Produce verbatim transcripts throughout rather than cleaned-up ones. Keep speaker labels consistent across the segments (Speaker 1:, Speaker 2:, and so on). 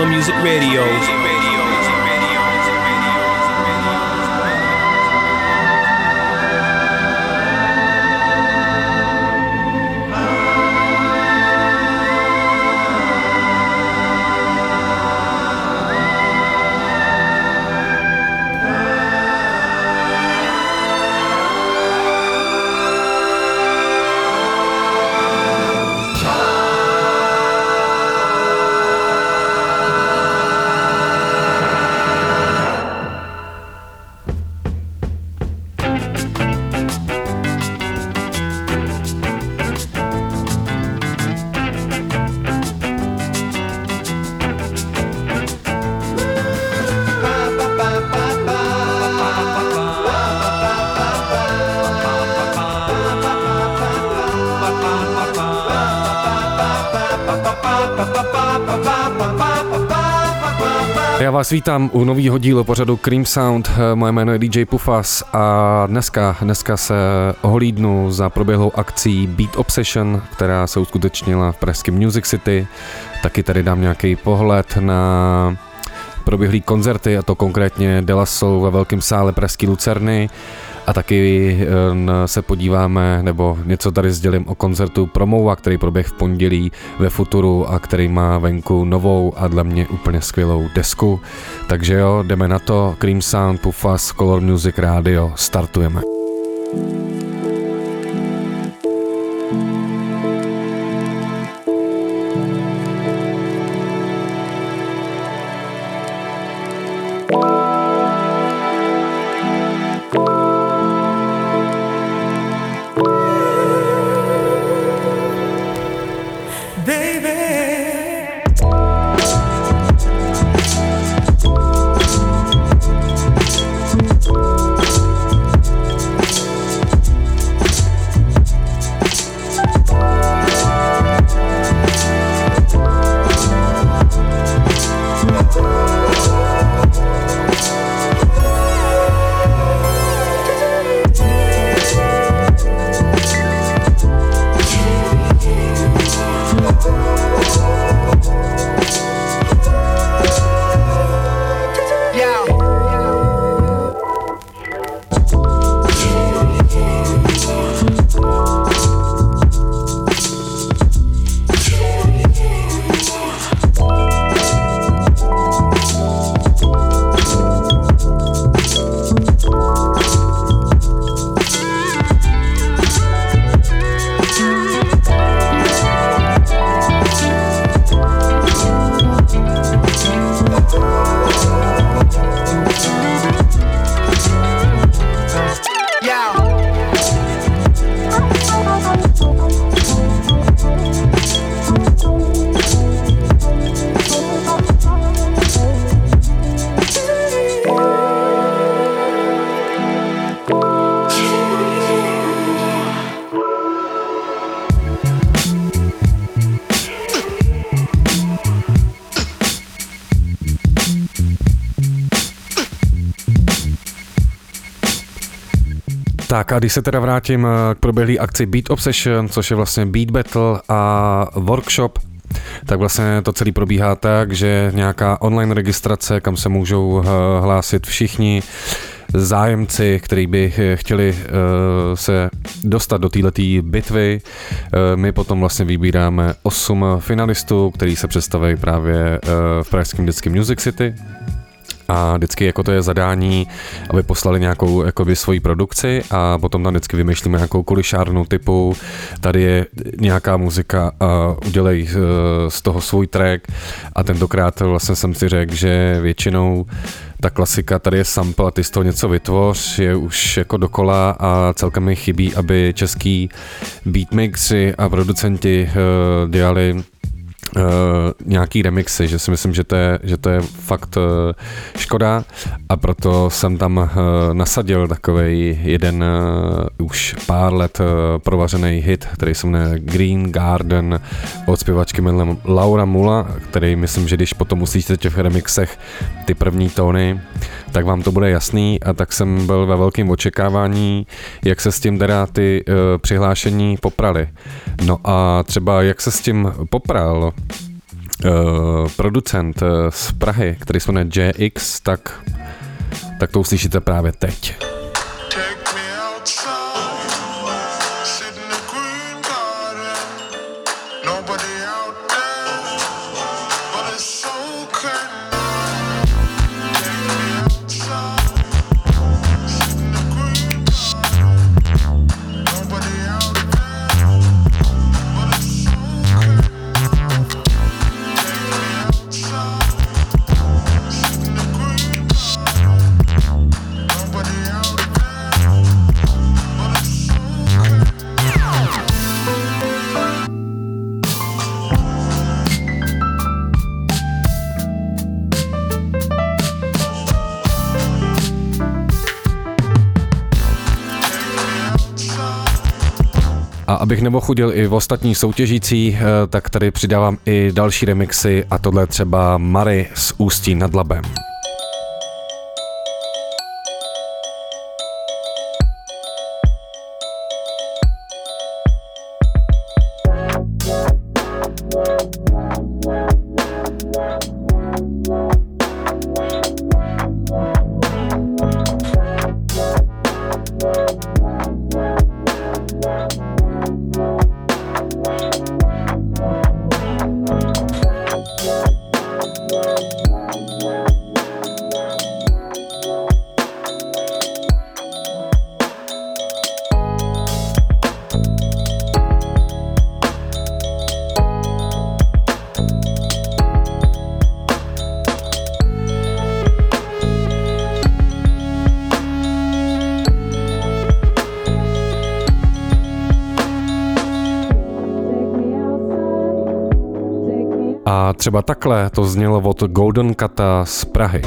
Speaker 1: Color Music Radio.
Speaker 2: Já vás vítám u nového dílu pořadu Cream Sound. Moje jméno je D J Pufas a dneska, dneska se ohlídnu za proběhlou akcí Beat Obsession, která se uskutečnila v pražském Music City. Taky tady dám nějaký pohled na proběhlý koncerty, a to konkrétně De La Soul ve velkém sále pražský Lucerny. A taky se podíváme, nebo něco tady sdělím o koncertu Promova, který proběh v pondělí ve Futuru a který má venku novou a dle mě úplně skvělou desku. Takže jo, jdeme na to. Cream Sound, Pufas, Color Music Radio, startujeme. Tak a když se teda vrátím k proběhlý akci Beat Obsession, což je vlastně Beat Battle a workshop, tak vlastně to celý probíhá tak, že nějaká online registrace, kam se můžou hlásit všichni zájemci, kteří by chtěli uh, se dostat do této bitvy. Uh, my potom vlastně vybíráme osm finalistů, kteří se představí právě uh, v pražském dětském Music City. A vždycky jako to je zadání, aby poslali nějakou jakoby svoji produkci a potom tam vždycky vymýšlíme nějakou kulišárnu typu, tady je nějaká muzika a udělej z toho svůj track. A tentokrát vlastně jsem si řekl, že většinou ta klasika, tady je sample a ty z toho něco vytvoř, je už jako dokola a celkem mi chybí, aby český beatmixi a producenti uh, dělali Uh, nějaký remixy, že si myslím, že to je, že to je fakt uh, škoda, a proto jsem tam uh, nasadil takovej jeden uh, už pár let uh, provařený hit, který se jmenuje Green Garden od zpěvačky jménem Laura Mula, který myslím, že když potom uslyšíte v těch remixech ty první tóny, tak vám to bude jasný, a tak jsem byl ve velkém očekávání, jak se s tím teda ty uh, přihlášení poprali. No a třeba jak se s tím popral producent z Prahy, který se jmenuje J X, tak, tak to uslyšíte právě teď. A abych neochudil i v ostatní soutěžící, tak tady přidávám i další remixy a tohle třeba Mary z Ústí nad Labem. A třeba takhle to znělo od Golden Cata z Prahy.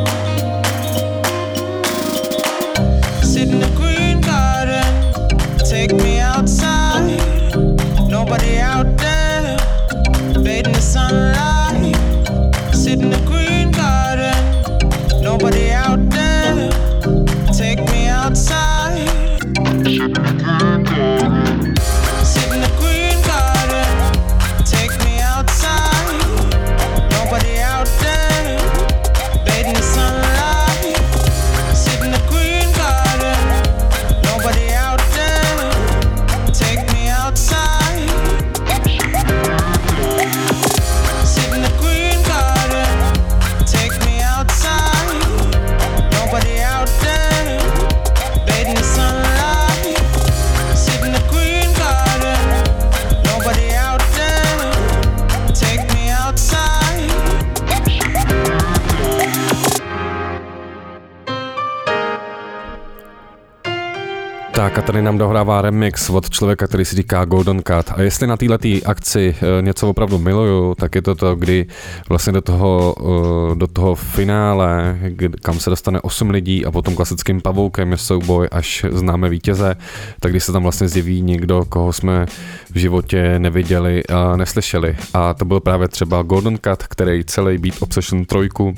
Speaker 2: Tak a tady nám dohrává remix od člověka, který si říká Golden Cat. A jestli na této akci něco opravdu miluju, tak je to to, kdy vlastně do toho, do toho finále, kam se dostane osm lidí a potom klasickým pavoukem je souboj, až známe vítěze, tak když se tam vlastně zjeví někdo, koho jsme v životě neviděli a neslyšeli. A to byl právě třeba Golden Cat, který celý Beat Obsession trojku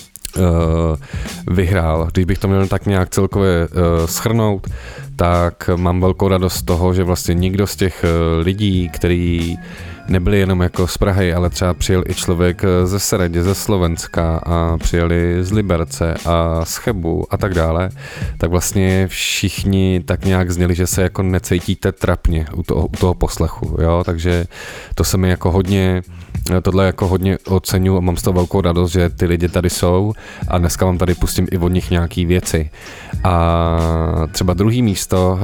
Speaker 2: Uh, vyhrál. Když bych to měl tak nějak celkově uh, shrnout, tak mám velkou radost z toho, že vlastně nikdo z těch uh, lidí, který nebyli jenom jako z Prahy, ale třeba přijel i člověk ze Seredě, ze Slovenska a přijeli z Liberce a z Chebu a tak dále, tak vlastně všichni tak nějak zněli, že se jako necítíte trapně u toho, u toho poslechu, jo, takže to se mi jako hodně tohle jako hodně oceňuji a mám z toho velkou radost, že ty lidi tady jsou a dneska vám tady pustím i od nich nějaký věci. A třeba druhý místo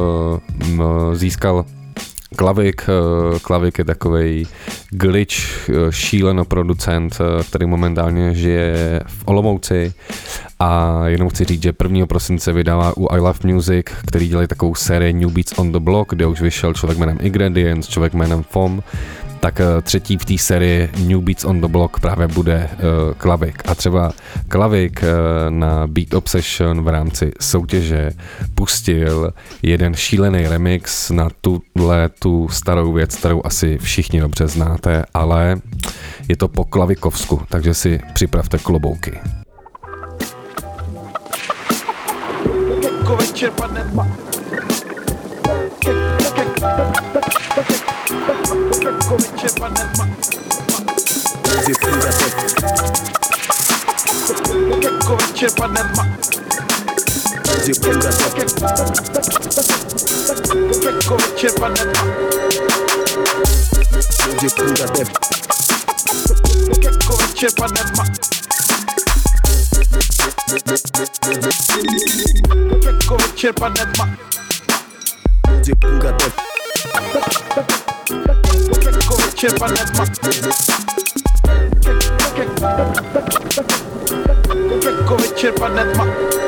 Speaker 2: uh, získal Klavik. Klavik je takovej glitch, šíleno producent, který momentálně žije v Olomouci a jenom chci říct, že prvního prosince vydává u I Love Music, který dělají takovou sérii New Beats on the Block, kde už vyšel člověk jménem Ingredients, člověk jménem F O M, tak třetí v té sérii New Beats on the Block právě bude uh, Klavik. A třeba Klavik uh, na Beat Obsession v rámci soutěže pustil jeden šílený remix na tuhle tu starou věc, kterou asi všichni dobře znáte, ale je to po klavikovsku, takže si připravte klobouky. Večer padne tma. Večer padne tma.
Speaker 1: Jako večer padne tma. Jako večer padne tma. Jako večer padne tma. Jako večer padne tma. Jako večer padne tma. Jako večer padne tma.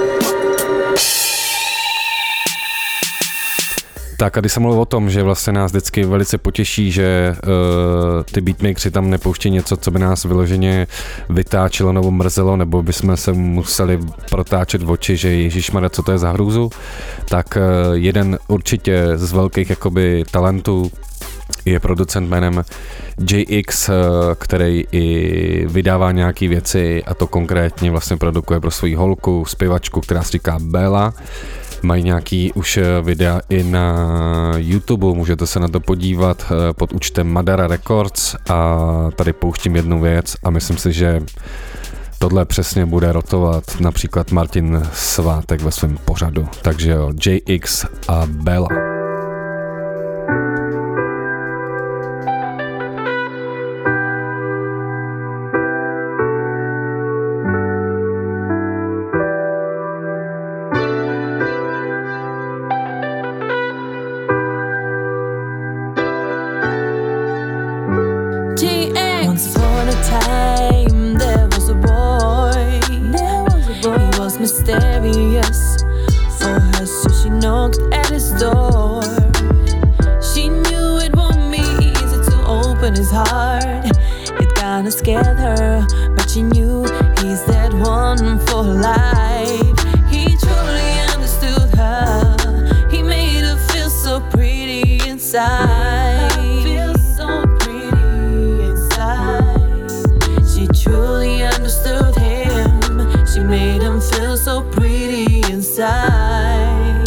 Speaker 2: Tak a když jsem mluvil o tom, že vlastně nás vždycky velice potěší, že uh, ty beatmakeři tam nepouští něco, co by nás vyloženě vytáčelo nebo mrzelo, nebo bychom se museli protáčet v oči, že ježišmarja, co to je za hrůzu, tak uh, jeden určitě z velkých jakoby talentů je producent jménem J X, který i vydává nějaký věci, a to konkrétně vlastně produkuje pro svoji holku, zpěvačku, která se říká Bella. Mají nějaký už videa i na YouTube, můžete se na to podívat pod účtem Madara Records, a tady pouštím jednu věc a myslím si, že tohle přesně bude rotovat například Martin Svátek ve svém pořadu. Takže jo, J X a Bella.
Speaker 3: Mysterious for her, so she knocked at his door. She knew it won't be easy to open his heart. It kinda scared her, but she knew he's that one for life. He truly understood her. He made her feel so pretty inside. Feel so pretty inside. She truly understood him. She made him feel so pretty inside.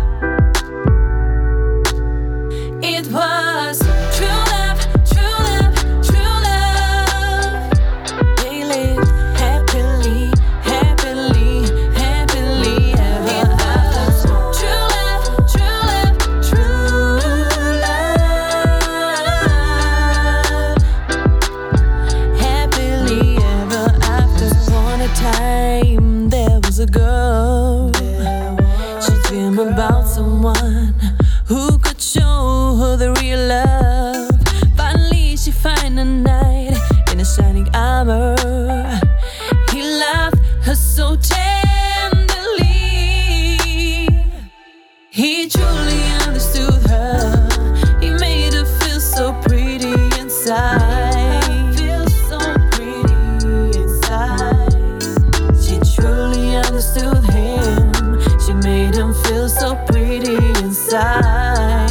Speaker 3: It was true love, true love, true love. They lived happily, happily, happily ever after. True love, true love, true love. Happily ever after. One a time there was a girl. She dreamed about someone who could show her the real love. Finally she find a knight in a shining armor. He loved her so tenderly. He truly understood her. He made her feel so pretty inside. Feel so pretty inside. She truly understood him. She made him feel so pretty inside.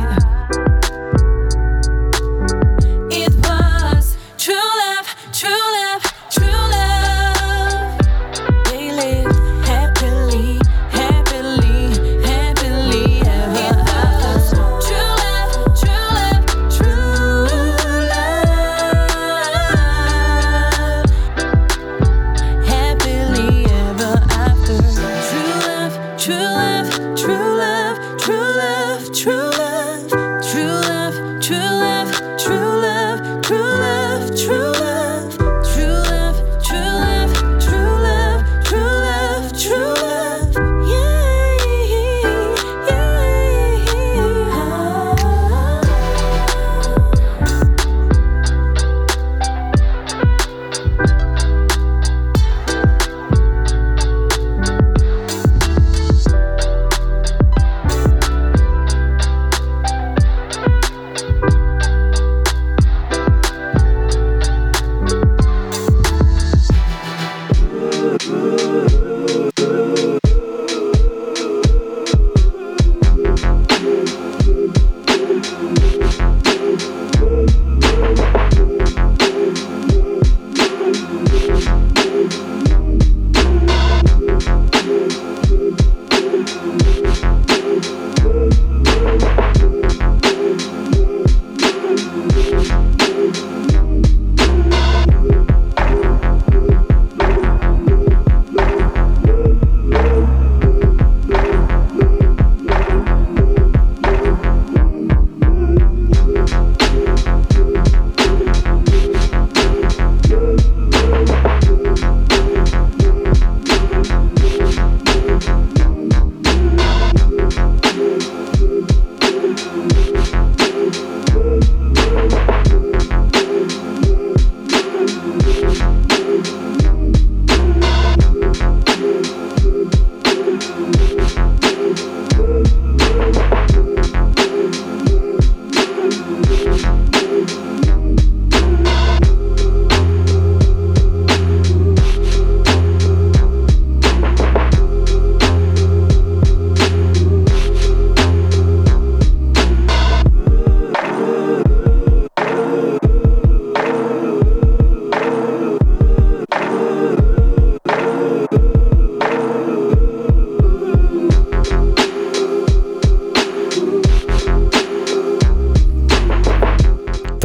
Speaker 3: It was true love, true love, true love. They lived happily, happily, happily ever after. True love, true love, true love. Happily ever after. True love, true love, true love, true love, true love, true love, true love, true love, true love, true love,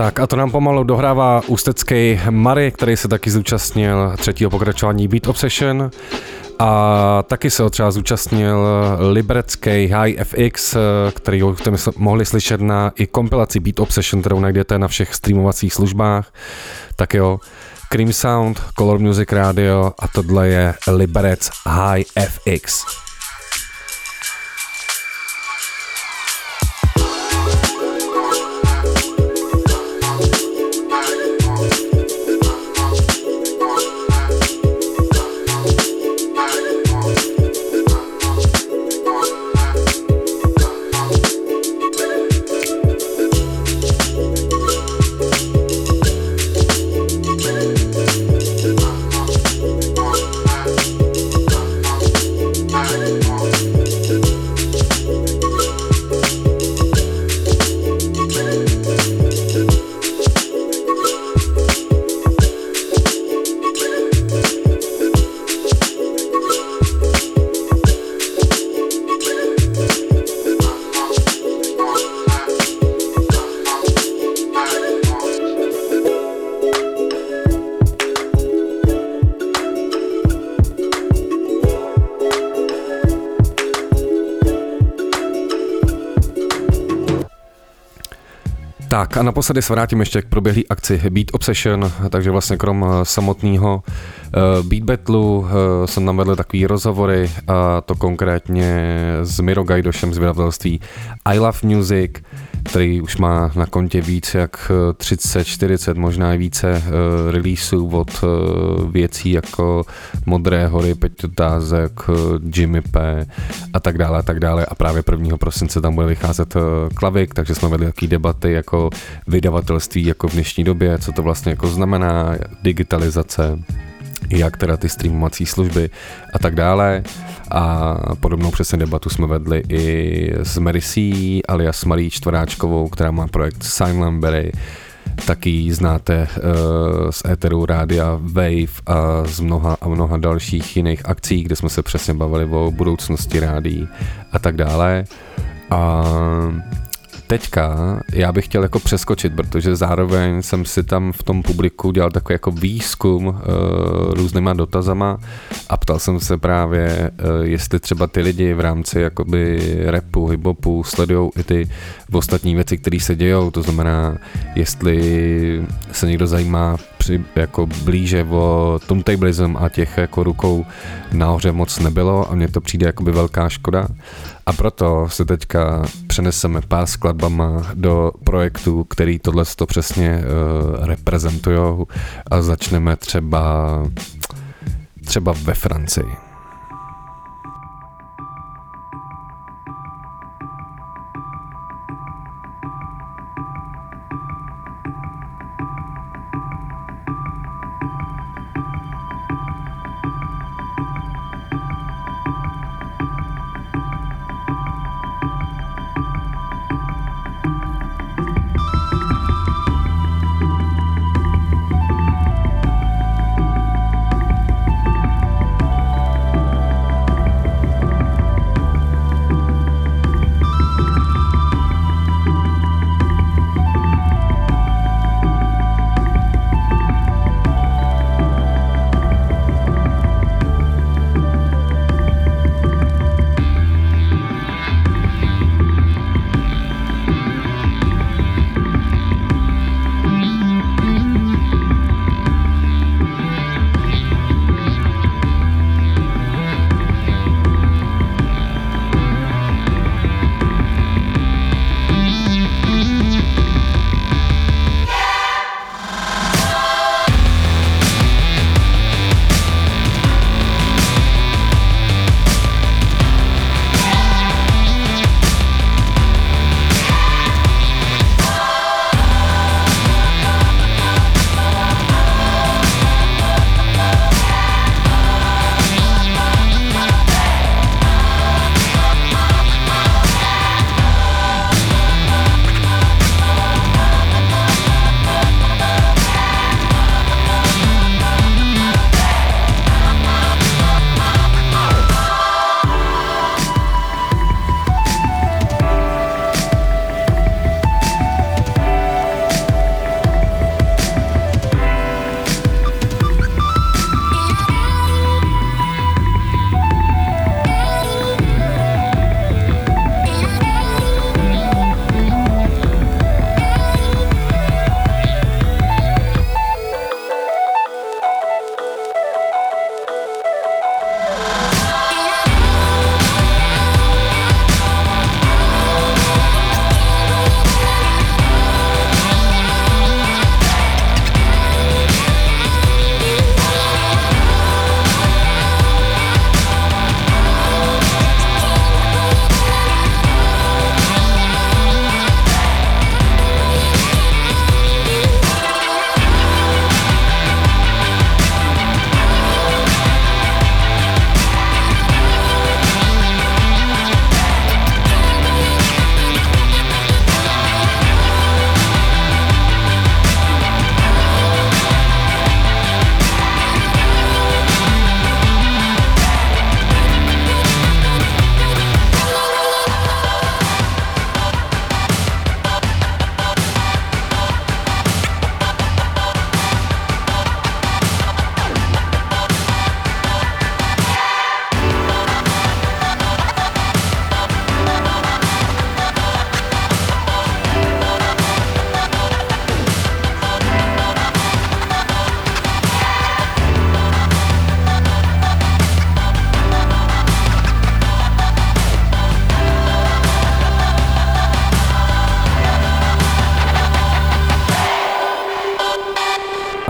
Speaker 2: Tak a to nám pomalu dohrává ústecký Mary, který se taky zúčastnil třetího pokračování Beat Obsession. A taky se ho třeba zúčastnil liberecký High F X, který jste mohli slyšet na i kompilaci Beat Obsession, kterou najdete na všech streamovacích službách. Tak jo, Cream Sound, Color Music Radio a tohle je Liberec High F X. Tak a naposledy se vrátím ještě k proběhlé akci Beat Obsession, takže vlastně krom samotného uh, Beat Battleu uh, jsem tam vedl takový rozhovory, a to konkrétně s Miro Gajdošem z vydavatelství I Love Music, který už má na kontě víc jak třicet, čtyřicet, možná i více uh, releaseů od uh, věcí jako Modré hory, Peťo Tázek, uh, Jimmy P a tak dále a tak dále a právě prvního prosince tam bude vycházet uh, Klavik, takže jsme vedli takové debaty jako vydavatelství jako v dnešní době, co to vlastně jako znamená, digitalizace, jak teda ty streamovací služby a tak dále. A podobnou přesně debatu jsme vedli i s Mary C, alias Marí Čtveráčkovou, která má projekt Silentberry. Taky ji znáte uh, z éteru rádia Wave a z mnoha a mnoha dalších jiných akcí, kde jsme se přesně bavili o budoucnosti rádií a tak dále. A teďka já bych chtěl jako přeskočit, protože zároveň jsem si tam v tom publiku dělal takový jako výzkum uh, různýma dotazama a ptal jsem se právě, uh, jestli třeba ty lidi v rámci jakoby rapu, hiphopu sledujou i ty ostatní věci, které se dějou, to znamená, jestli se někdo zajímá při, jako blíže o turntablism a těch jako rukou nahoře moc nebylo a mně to přijde jakoby velká škoda. A proto se teďka přeneseme pár skladbama do projektů, který tohle to přesně uh, reprezentujou a začneme třeba třeba ve Francii.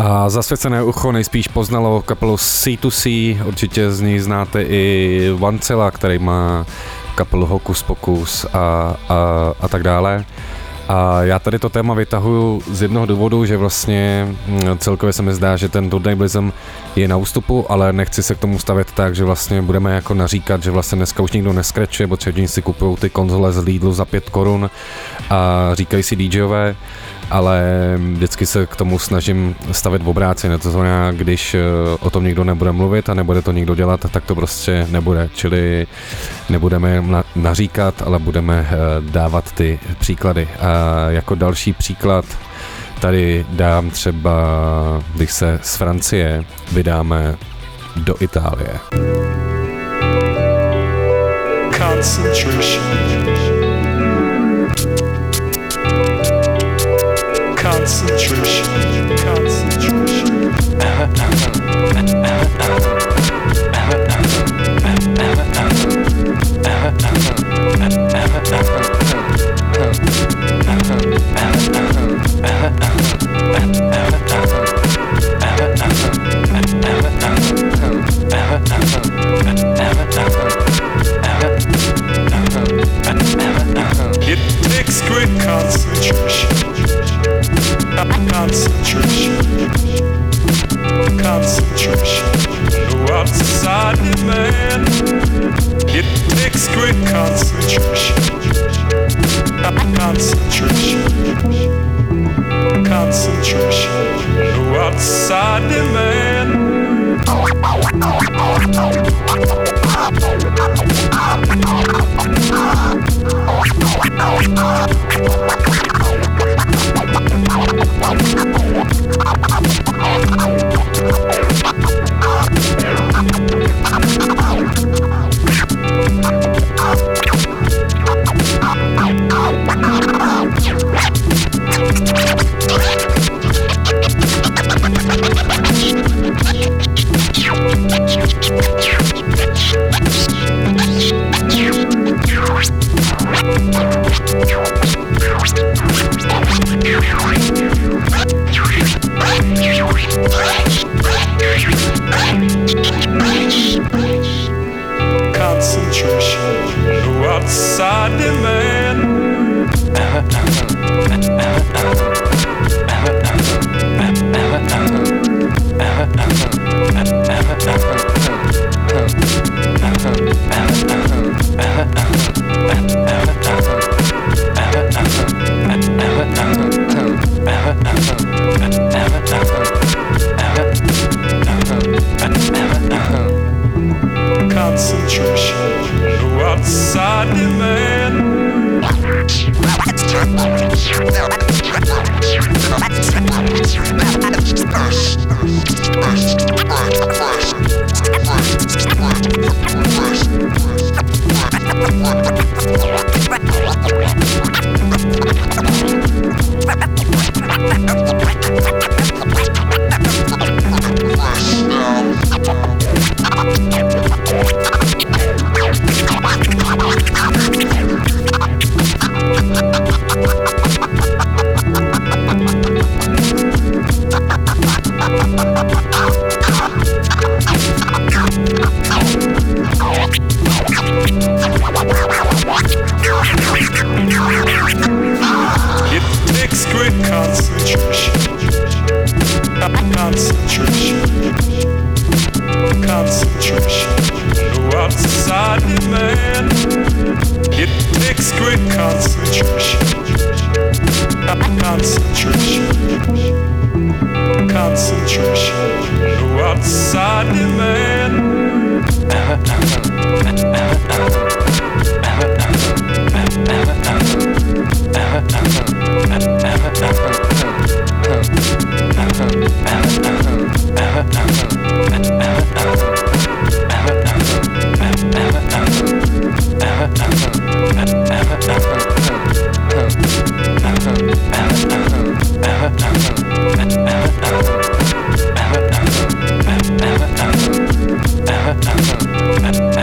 Speaker 2: A zasvěcené ucho nejspíš poznalo kapelu C two C, určitě z ní znáte i Vancela, který má kapelu Hokus Pokus a, a, a tak dále. A já tady to téma vytahuju z jednoho důvodu, že vlastně celkově se mi zdá, že ten turntablism je na ústupu, ale nechci se k tomu stavět tak, že vlastně budeme jako naříkat, že vlastně dneska už nikdo neskrečuje, protože všichni si kupují ty konzole z Lidlu za pět korun a říkají si DJové, ale vždycky se k tomu snažím stavět v obráceně, to znamená, když o tom nikdo nebude mluvit a nebude to nikdo dělat, tak to prostě nebude, čili nebudeme naříkat, ale budeme dávat ty příklady. A jako další příklad tady dám třeba, když se z Francie vydáme do Itálie.
Speaker 4: Concentration. Concentration, concentration. It takes great concentration. Concentration, concentration, no outside demand. It takes great concentration, concentration, concentration, no outside demand. Uh-huh.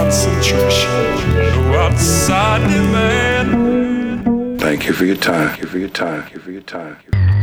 Speaker 4: concentration. No outside demand.
Speaker 5: Thank you for your time. Thank you for your time. Thank you for your time.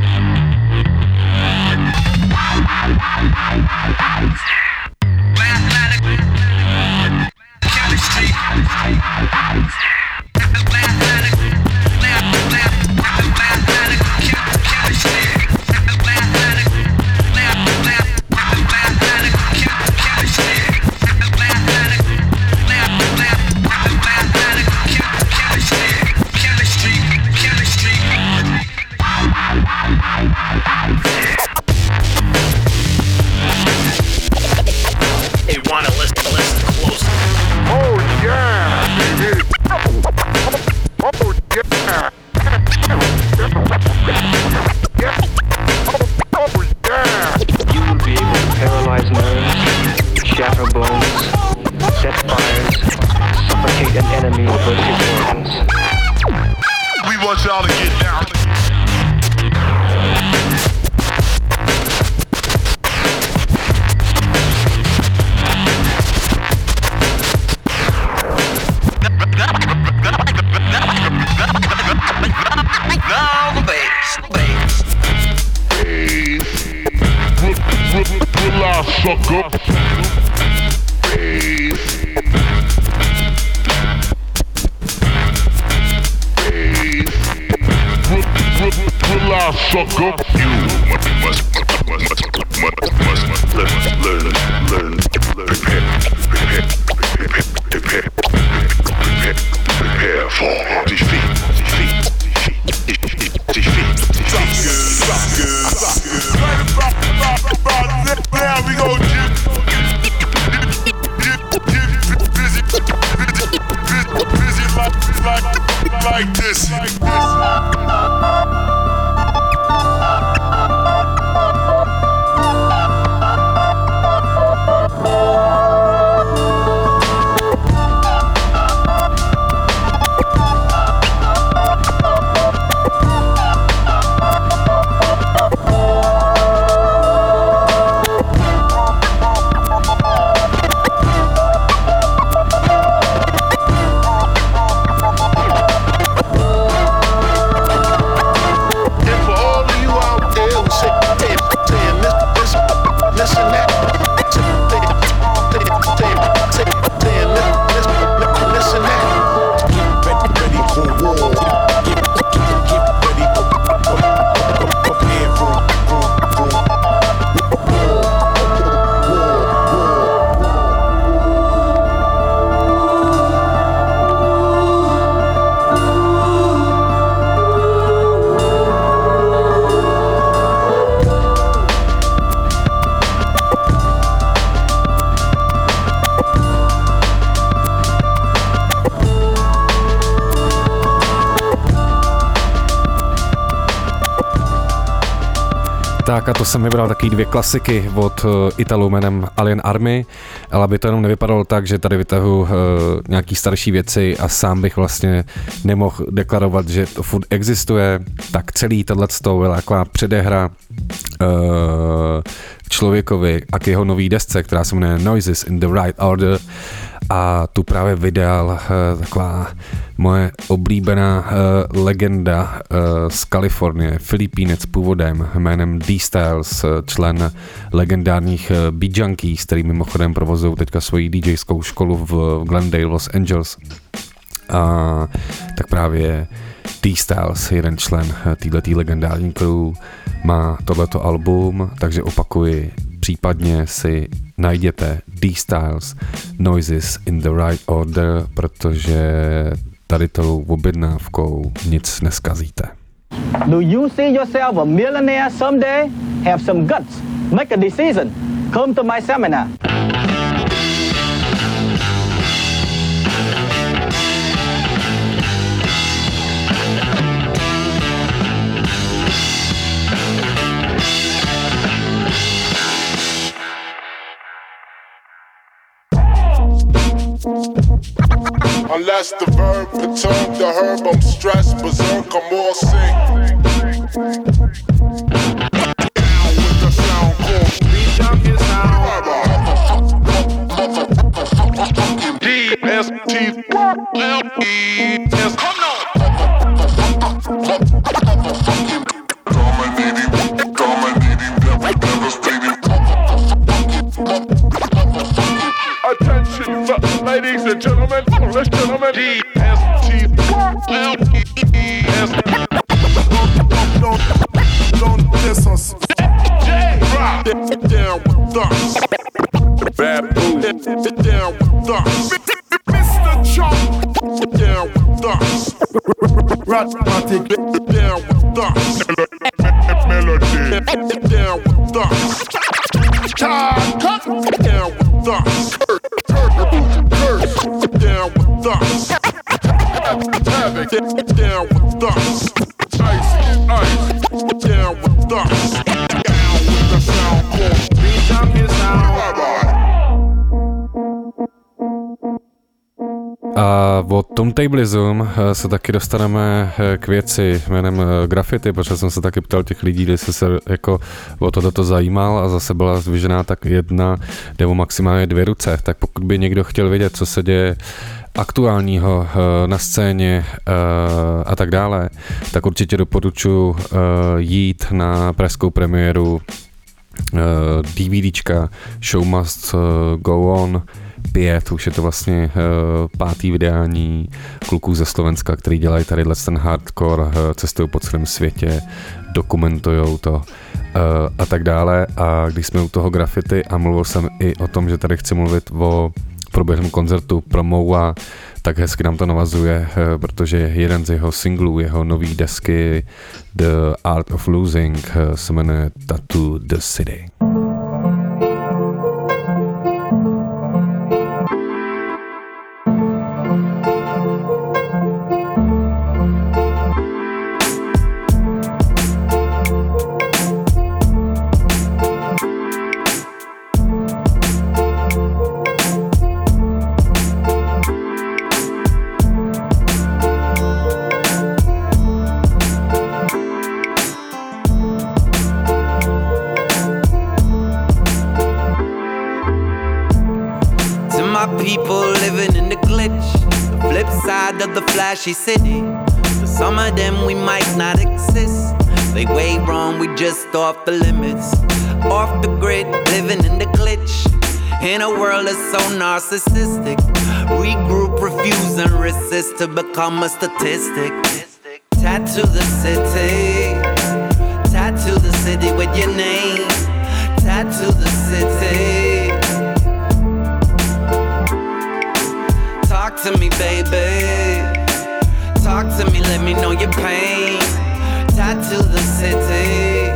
Speaker 2: Tak a to jsem vybral taky dvě klasiky od Italů jménem Alien Army, ale aby to jenom nevypadalo tak, že tady vytahu uh, nějaký starší věci a sám bych vlastně nemohl deklarovat, že to furt existuje, tak celý tohleto byla taková předehra uh, člověkovi a k jeho nový desce, která se jmenuje Noises in the Right Order, a tu právě vydal uh, taková moje oblíbená uh, legenda uh, z Kalifornie, Filipínec původem jménem D-Styles, člen legendárních uh, Beat Junkies, který mimochodem provozují teďka svoji DJskou školu v Glendale, Los Angeles. A tak právě D-Styles, jeden člen uh, této legendární crew, má tohleto album, takže opakuji, případně si najděte D-Styles Noises in the Right Order, protože tady tou objednávkou nic neskazíte.
Speaker 6: Do you see yourself a millionaire someday? Have some guts. Make a decision. Come to my seminar.
Speaker 1: Unless the verb perturb the herb, I'm stressed, berserk, I'm all sick. With the sound called Beat Junkie sound. D S T L E S. Come on. Dominating, dominating, devastating. Attention, ladies and gentlemen, let's gentlemen. D S T L E S. Don't, don't diss us. J Rock down with us. Bad Boo down with us. Mister Chunk down with us. Ratmatic down with us. Melody down with us. Todd Cut down with us. Curse down with us. Havoc down with us. Ice, ice down with us. Down with the sound called Beat Up Your Sound.
Speaker 2: A od Turntablism se taky dostaneme k věci jménem graffiti, protože jsem se taky ptal těch lidí, jestli se jako o toto zajímal a zase byla zdvižená tak jedna nebo maximálně dvě ruce. Tak pokud by někdo chtěl vědět, co se děje aktuálního na scéně a tak dále, tak určitě doporučuji jít na pražskou premiéru DVDčka Show Must Go On pět, už je to vlastně pátý vydání kluků ze Slovenska, který dělají tady ten hardcore, cestují po celém světě, dokumentujou to a tak dále. A když jsme u toho graffiti a mluvil jsem i o tom, že tady chci mluvit o proběhlém koncertu Promoa, tak hezky nám to navazuje, protože jeden z jeho singlů, jeho nový desky The Art of Losing se jmenuje Tattoo the City.
Speaker 7: Of the flashy city, for some of them we might not exist. They way wrong, we just off the limits, off the grid, living in the glitch. In a world that's so narcissistic, regroup, refuse and resist to become a statistic. Tattoo the city, tattoo the city with your name, tattoo the city. Talk to me, baby. Talk to me, let me know your pain. Tattoo the city.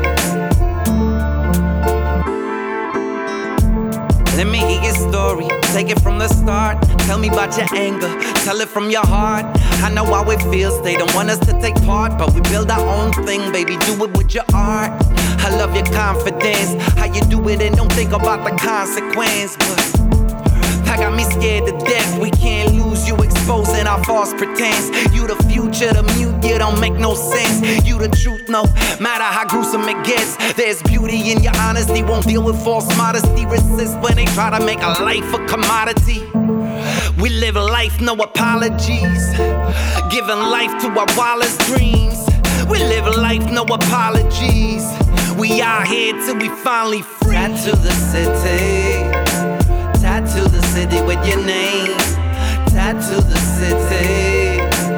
Speaker 7: Let me hear your story. Take it from the start. Tell me about your anger. Tell it from your heart. I know how it feels. They don't want us to take part, but we build our own thing, baby. Do it with your art. I love your confidence. How you do it and don't think about the consequence, but I got me scared to death. We can't lose you, exposing our false pretense. You the future, the mute, you don't make no sense. You the truth, no matter how gruesome it gets. There's beauty in your honesty, won't deal with false modesty. Resist when they try to make a life a commodity. We live life, no apologies. Giving life to our wildest dreams. We live life, no apologies. We out here till we finally free. Tattoo the city. Tattoo the city with your name. Tattoo the city.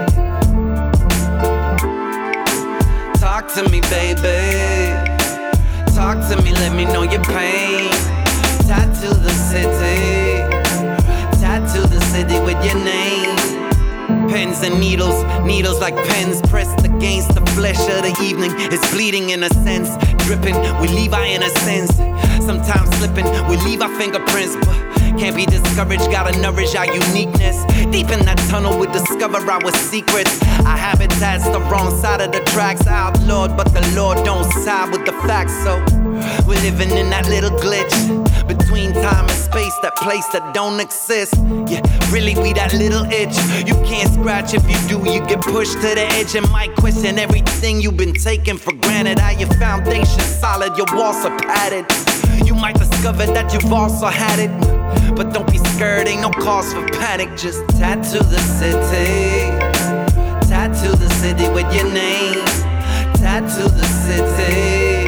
Speaker 7: Talk to me, baby. Talk to me, let me know your pain. Tattoo the city. Tattoo the city with your name. Pens and needles, needles like pens pressed against the flesh of the evening. It's bleeding in a sense, dripping, we leave our innocence. Sometimes slipping, we leave our fingerprints, but can't be discouraged, gotta nourish our uniqueness. Deep in that tunnel we discover our secrets. Our habitat's the wrong side of the tracks, outlawed, but the Lord don't side with the facts. So we're living in that little glitch between time and space, that place that don't exist. Yeah, really we that little itch you can't scratch. If you do, you get pushed to the edge and might question everything you've been taking for granted. How your foundation solid, your walls are padded. You might discover that you've also had it. But don't be scared, ain't no cause for panic. Just tattoo the city. Tattoo the city with your name. Tattoo the city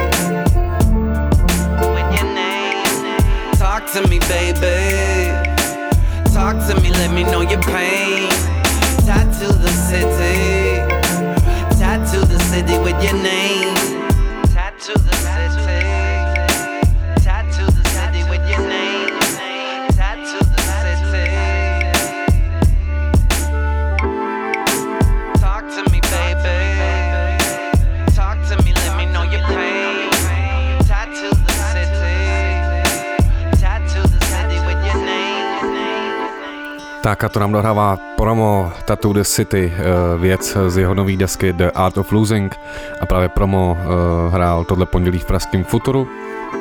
Speaker 7: with your name. Talk to me, baby. Talk to me, let me know your pain. Tattoo the city. Tattoo the city with your name. Tattoo the city. Tattoo the city with your name. Tattoo the city. Talk to me, baby. Talk to me, let me know your pain. Tattoo the city. Tattoo the city with your name.
Speaker 2: Tak a to nám dohrává promo Tattoo the City, věc z jeho nový desky The Art of Losing, a právě promo hrál tohle pondělí v pražském Futuru.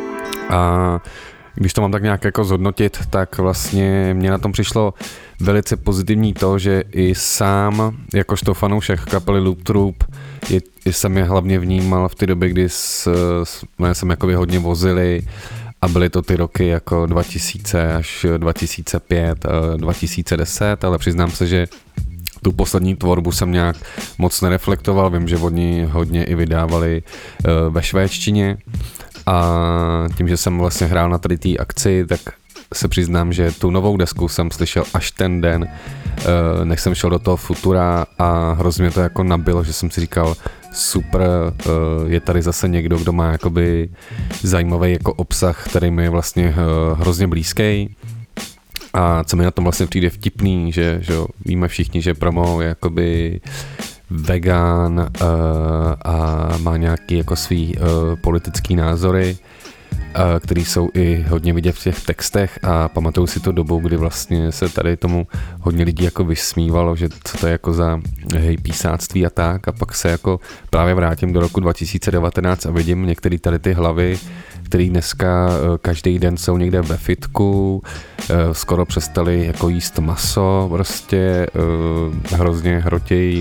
Speaker 2: A když to mám tak nějak jako zhodnotit, tak vlastně mě na tom přišlo velice pozitivní to, že i sám, jakožto fanoušek kapely Loop Troop, je, jsem je hlavně vnímal v té době, kdy s, jsme jsem jakoby hodně vozili, a byly to ty roky jako dva tisíce až dva tisíce pět, dva tisíce deset, ale přiznám se, že tu poslední tvorbu jsem nějak moc nereflektoval, vím, že oni hodně i vydávali ve švédštině, a tím, že jsem vlastně hrál na tady té akci, tak se přiznám, že tu novou desku jsem slyšel až ten den, než jsem šel do toho Futura, a hrozně mě to jako nabilo, že jsem si říkal, super, je tady zase někdo, kdo má jakoby zajímavý jako obsah, který mi je vlastně hrozně blízký. A co mi na tom vlastně přijde vtipný, že, že víme všichni, že Promo je jakoby vegan uh, a má nějaký jako svý uh, politický názory, uh, který jsou i hodně vidět v těch textech, a pamatuju si to dobu, kdy vlastně se tady tomu hodně lidí jako vysmívalo, že co to je jako za hej písáctví a tak, a pak se jako právě vrátím do roku dva tisíce devatenáct a vidím některé tady ty hlavy, který dneska každý den jsou někde ve fitku, skoro přestali jako jíst maso, prostě hrozně hrotějí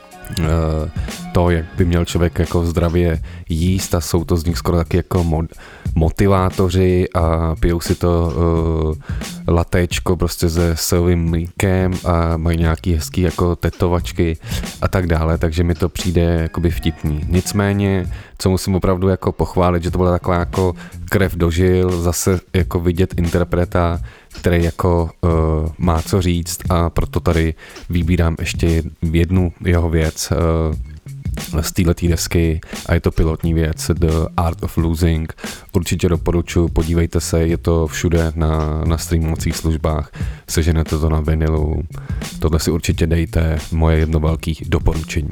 Speaker 2: to, jak by měl člověk jako zdravě jíst, a jsou to z nich skoro taky jako mod, motivátoři a pijou si to uh, latéčko prostě se sojovým mlíkem a mají nějaký hezký jako tetovačky a tak dále, takže mi to přijde jakoby vtipný. Nicméně, co musím opravdu jako pochválit, že to byla taková jako krev do žil, zase jako vidět interpreta, který jako uh, má co říct, a proto tady vybírám ještě jednu jeho věc uh, z této desky, a je to pilotní věc The Art of Losing. Určitě doporučuji, podívejte se, je to všude na, na streamovacích službách, seženete to na vinilu, tohle si určitě dejte, moje jedno velké doporučení.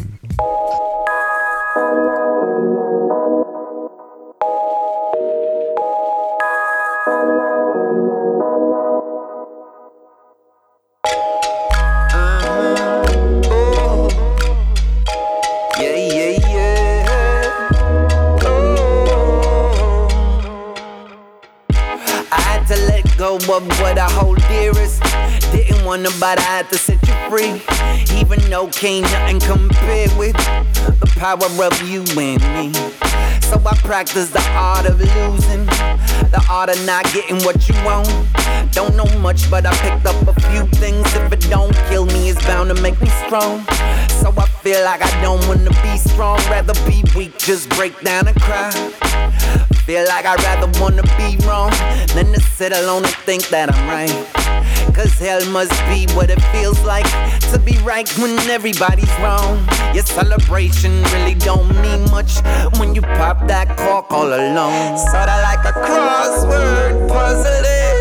Speaker 7: Of what I hold dearest, didn't want nobody, I had to set you free. Even though can't nothing compare with the power of you and me. So I practice the art of losing, the art of not getting what you want. Don't know much, but I picked up a few things. If it don't kill me, it's bound to make me strong. So I feel like I don't wanna be strong, rather be weak, just break down and cry. Feel like I'd rather wanna be wrong than to sit alone and think that I'm right. Cause hell must be what it feels like to be right when everybody's wrong. Your celebration really don't mean much when you pop that cork all alone. Sorta like a crossword puzzle.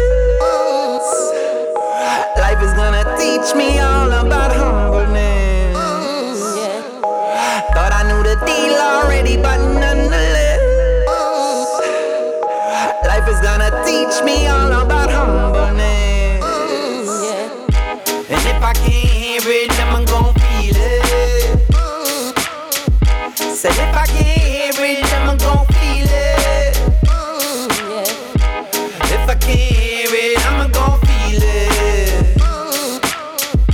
Speaker 7: Life is gonna teach me all about humbleness. Thought I knew the deal already, but nonetheless, life is gonna teach me all about humbleness. And if I can't hear it, then I'm gon' feel it. Said if I can't hear it, then I'm gon' feel it. If I can't hear it, I'm gon' feel it.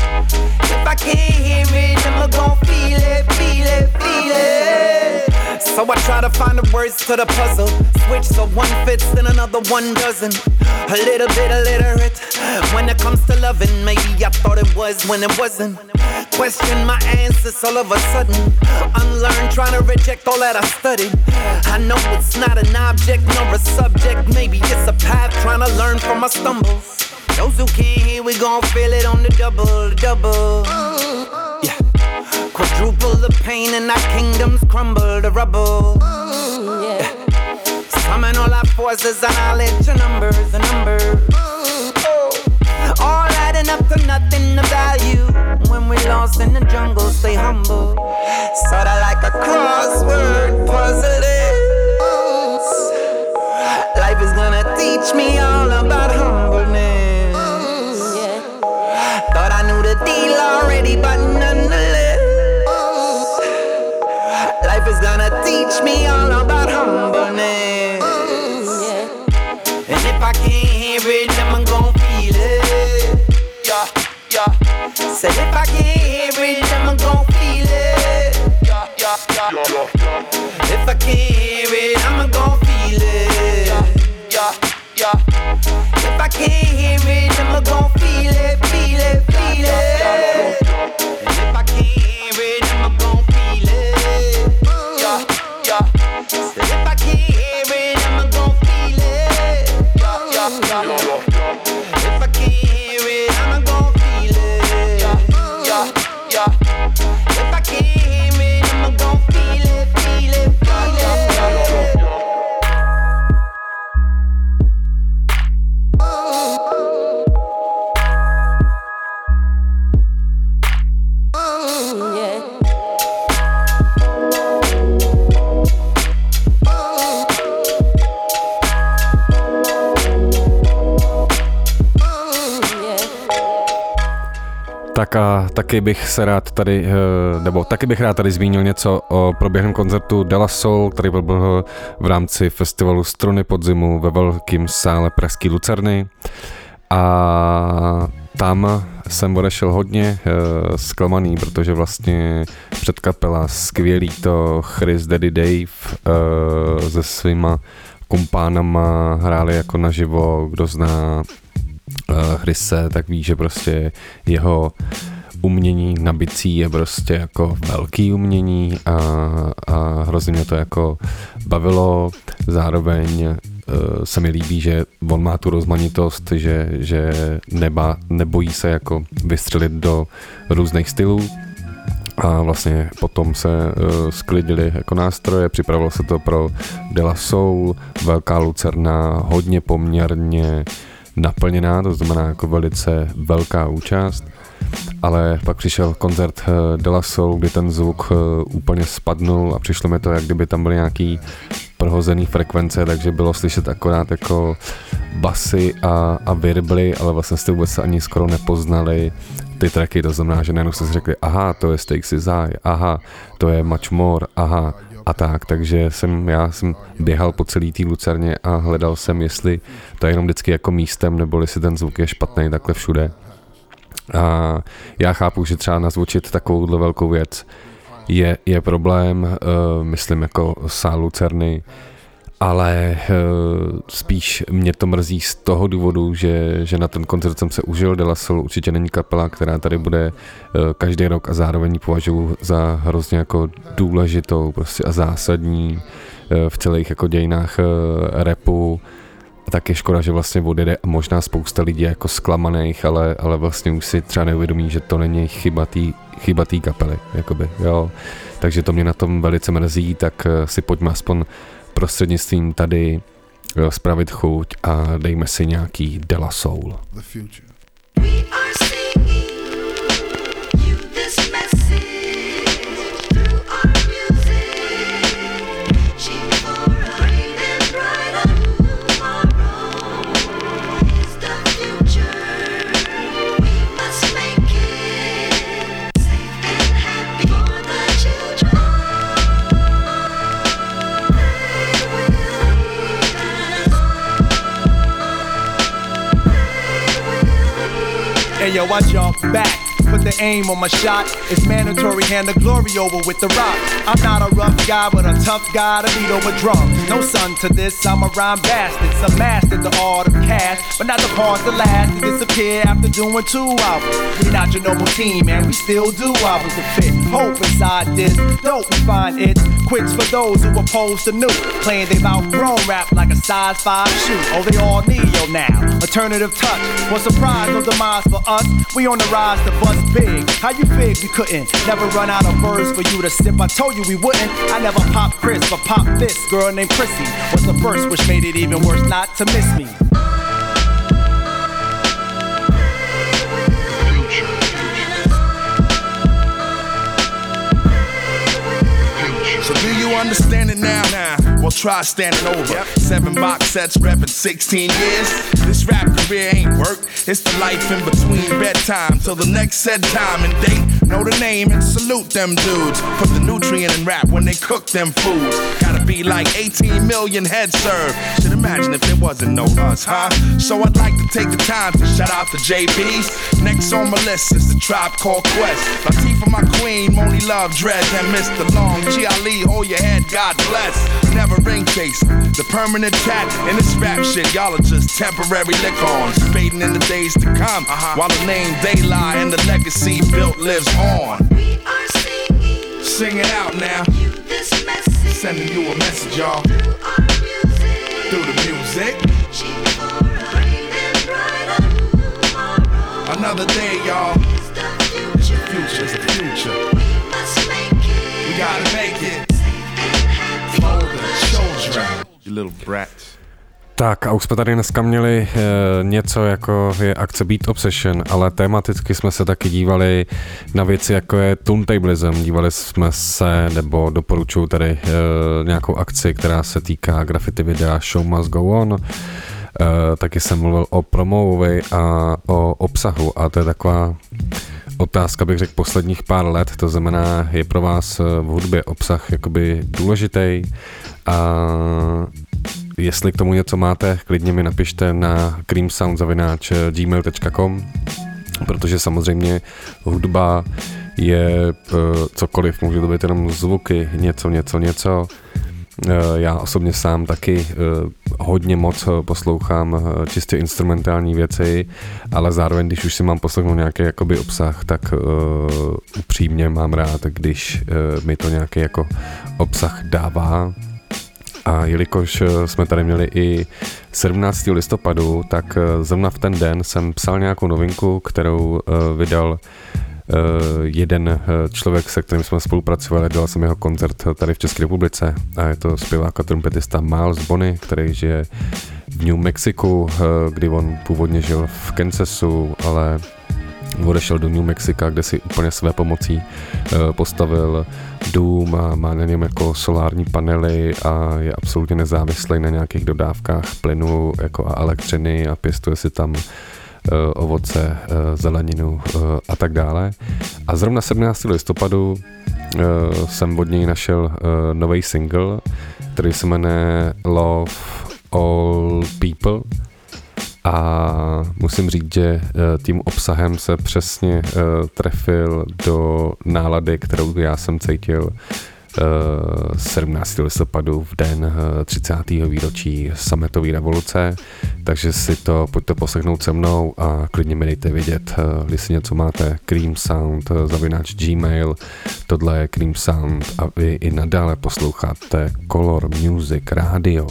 Speaker 7: If I can't hear it, I'm gon' feel it, feel it, feel it. So I try to find the words to the puzzle. Switch so one fits and another one doesn't. A little bit illiterate when it comes to loving. Maybe I thought it was when it wasn't. Question my answers all of a sudden. Unlearn, trying to reject all that I studied. I know it's not an object nor a subject. Maybe it's a path, trying to learn from my stumbles. Those who can't hear, we gon' feel it on the double, double. Yeah. Quadruple the pain and our kingdoms crumble to rubble. Yeah. Summon all our forces and knowledge and numbers and numbers. All adding up to nothing of value. When we lost in the jungle, stay humble. Sorta like a crossword puzzle is. Life is gonna teach me all about humbleness. Thought I knew the deal already, but nonetheless, life is gonna teach me all about humbleness. And if I can't hear it, then I'm gon' feel it. Yeah, yeah. Said if I can't hear it, then I'm gon' feel it. Yeah, yeah, yeah. If I can't hear it, I'm gon' feel it. Yeah, yeah, yeah. If I can't hear it, I'm gon' feel it, feel it, feel it. And if I can't hear it, I'm gon' feel it. Yeah, yeah. Said if I can't hear it, I'm gon' feel it. Yeah, yeah, yeah. If I can't hear it, I'm gon' feel it. Yeah, yeah, yeah. If I can't hear it, I'm gon' feel it, feel it, feel it.
Speaker 2: Tak a taky bych se rád tady, nebo taky bych rád tady zmínil něco o proběhlém koncertu De La Soul, který byl v rámci festivalu Struny podzimu ve velkém sále pražský Lucerny. A tam jsem odešel hodně zklamaný, protože vlastně předkapela skvělý to Chris Daddy Dave se svýma kumpánama hráli jako naživo, kdo zná Chrise, tak ví, že prostě jeho umění na bicí je prostě jako velký umění a, a hrozně mě to jako bavilo. Zároveň uh, se mi líbí, že on má tu rozmanitost, že, že neba, nebojí se jako vystřelit do různých stylů. A vlastně potom se uh, sklidili jako nástroje, připravilo se to pro De La Soul, velká Lucerna, hodně poměrně naplněná, to znamená jako velice velká účast, ale pak přišel koncert De La Soul, kdy ten zvuk úplně spadnul a přišlo mi to, jak kdyby tam byly nějaký prohozený frekvence, takže bylo slyšet akorát jako basy a, a virbly, ale vlastně jste vůbec ani skoro nepoznali ty tracky, to znamená, že najednou jste si řekli, aha, to je Stakes Is High, aha, to je Much More, aha, a tak, takže jsem, já jsem běhal po celý té Lucerně a hledal jsem, jestli to je jenom vždycky jako místem, nebo jestli ten zvuk je špatný takhle všude. A já chápu, že třeba nazvučit takovouhle velkou věc je, je problém, uh, myslím jako sál Lucerny, ale uh, spíš mě to mrzí z toho důvodu, že, že na ten koncert jsem se užil. De La Soul určitě není kapela, která tady bude uh, každý rok a zároveň považuji za hrozně jako důležitou prostě a zásadní uh, v celých jako dějinách uh, rapu. A tak je škoda, že vlastně odjede a možná spousta lidí jako zklamaných, ale, ale vlastně už si třeba neuvědomí, že to není chyba tý, chyba tý kapely, jakoby, jo. Takže to mě na tom velice mrzí, tak uh, si pojďme aspoň prostřednictvím tady jo, spravit chuť a dejme si nějaký De La Soul.
Speaker 8: Hey yo, I jump back put the aim on my shot. It's mandatory, hand the glory over with the rock. I'm not a rough guy, but a tough guy to beat over drums. No son to this, I'm a rhyme bastard. Some mastered the art of cash, but not the parts that last to disappear after doing two albums. We not your normal team, man, we still do albums to fit. Hope inside this, dope we find it. Quits for those who oppose the new. Playing they've outgrown rap like a size five shoe. Oh, they all neo now, alternative touch. What surprise, no demise for us. We on the rise to bust big. How you fig we couldn't never run out of words for you to sip? I told you we wouldn't. I never pop Chris, but pop this girl named Chrissy. Was the first which made it even worse not to miss me.
Speaker 1: So do you understand it now? Nah. Well, try standing over. Yep. Seven box sets, reppin' sixteen years. This rap career ain't work. It's the life in between bedtime till the next said time and date. Know the name and salute them dudes. Put the nutrient in rap when they cook them foods. Gotta be like eighteen million heads served. Should imagine if there wasn't no us, huh? So I'd like to take the time to shout out the J Bs. Next on my list is the Tribe Called Quest. Latifah, my queen, Moni Love, Dredge, and Mister Long. G Ali, hold your head, God bless. Never ring chasing, the permanent cat in this rap shit. Y'all are just temporary lick-ons, fading in the days to come. Uh-huh. While the name they lie and the legacy built lives on.
Speaker 9: We are singing,
Speaker 1: sing it out now.
Speaker 9: You this message,
Speaker 1: sending you a message, y'all.
Speaker 9: Through our music,
Speaker 1: through the music.
Speaker 9: Reaching for a bright and brighter tomorrow.
Speaker 1: Another day, y'all.
Speaker 9: It's the future,
Speaker 1: it's the future, it's the future.
Speaker 9: We must make it,
Speaker 1: we gotta make it. You little brats.
Speaker 2: Tak a už jsme tady dneska měli e, něco jako je akce Beat Obsession, ale tematicky jsme se taky dívali na věci jako je turntablism, dívali jsme se, nebo doporučuji tady e, nějakou akci, která se týká graffiti videa Show Must Go On. E, taky jsem mluvil o promovi a o obsahu a to je taková otázka, bych řekl, posledních pár let, to znamená, je pro vás v hudbě obsah jakoby důležitý a jestli k tomu něco máte, klidně mi napište na creamsound zavináč gmail tečka com, protože samozřejmě hudba je cokoliv, může to být jenom zvuky, něco, něco, něco. Já osobně sám taky hodně moc poslouchám čistě instrumentální věci, ale zároveň, když už si mám poslechnout nějaký jakoby obsah, tak uh, upřímně mám rád, když uh, mi to nějaký jako obsah dává. A jelikož jsme tady měli i sedmnáctého listopadu, tak zrovna v ten den jsem psal nějakou novinku, kterou uh, vydal Uh, jeden uh, člověk, se kterým jsme spolupracovali, dal jsem jeho koncert tady v České republice a je to zpěvák a trumpetista Miles Bonny, který žije v New Mexiku, uh, kdy on původně žil v Kansasu, ale odešel do New Mexica, kde si úplně své pomocí uh, postavil dům a má na něm jako solární panely a je absolutně nezávislý na nějakých dodávkách plynu jako a elektřiny a pěstuje si tam ovoce, zeleninu a tak dále. A zrovna sedmnáctého listopadu jsem od něj našel nový single, který se jmenuje Love All People a musím říct, že tím obsahem se přesně trefil do nálady, kterou já jsem cítil sedmnáctého listopadu v den třicátého výročí sametové revoluce, takže si to pojďte poslechnout se mnou a klidně mi dejte vědět, jestli něco máte. Creamsound zavináč Gmail, tohle je Creamsound a vy i nadále posloucháte Color Music Radio.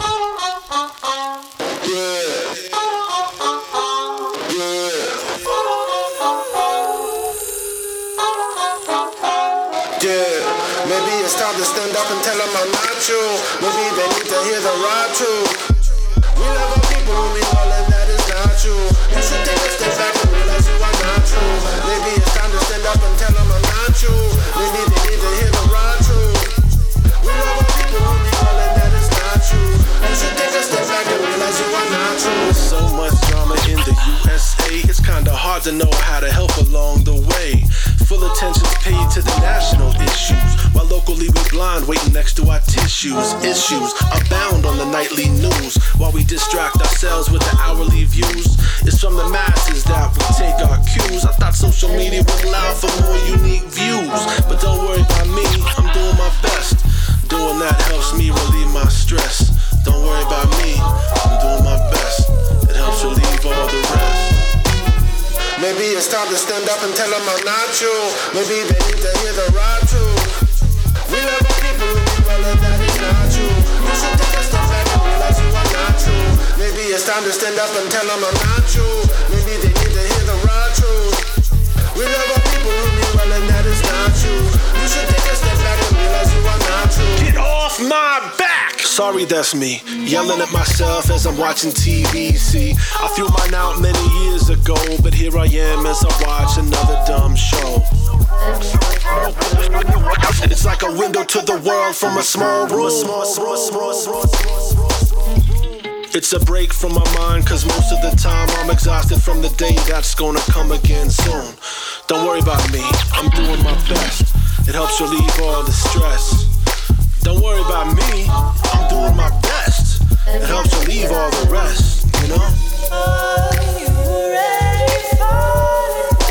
Speaker 10: Maybe they need to hear the rap too. We love our people when we all and that is not true. You should take a step back and realize you are not true. Maybe it's time to stand up and tell them I'm not true. Maybe they need to hear the rap too. We love our people when we all and that is not true. You should take a step back and realize you are not true. There's so much drama in the U S A. It's kinda hard to know how to help along the way. Full attention's paid to the national issues, while local equally we blind, waiting next to our tissues. Issues abound on the nightly news, while we distract ourselves with the hourly views. It's from the masses that we take our cues. I thought social media would allow for more unique views, but don't worry about me, I'm doing my best. Doing that helps me relieve my stress. Don't worry about me, I'm doing my best. It helps relieve all the rest.
Speaker 11: Maybe it's time to stand up and tell them I'm not you. Maybe they need to hear the right truth. We love our people who be well and that is not true. You should take a step back and realize you are not true. Maybe it's time to stand up and tell them I'm not you. Maybe they need to hear the right truth. We love our people who be well and that is not true. You should take a step back and realize you are not true.
Speaker 10: Get off my back! Sorry, that's me, yelling at myself as I'm watching T V. See, I threw mine out many years ago, but here I am as I watch another dumb show. It's like a window to the world from a small room. It's a break from my mind, cause most of the time I'm exhausted from the day that's gonna come again soon. Don't worry about me, I'm doing my best. It helps relieve all the stress. Don't worry about me, I'm doing my best. It helps relieve all the rest, you know?
Speaker 3: Are you ready for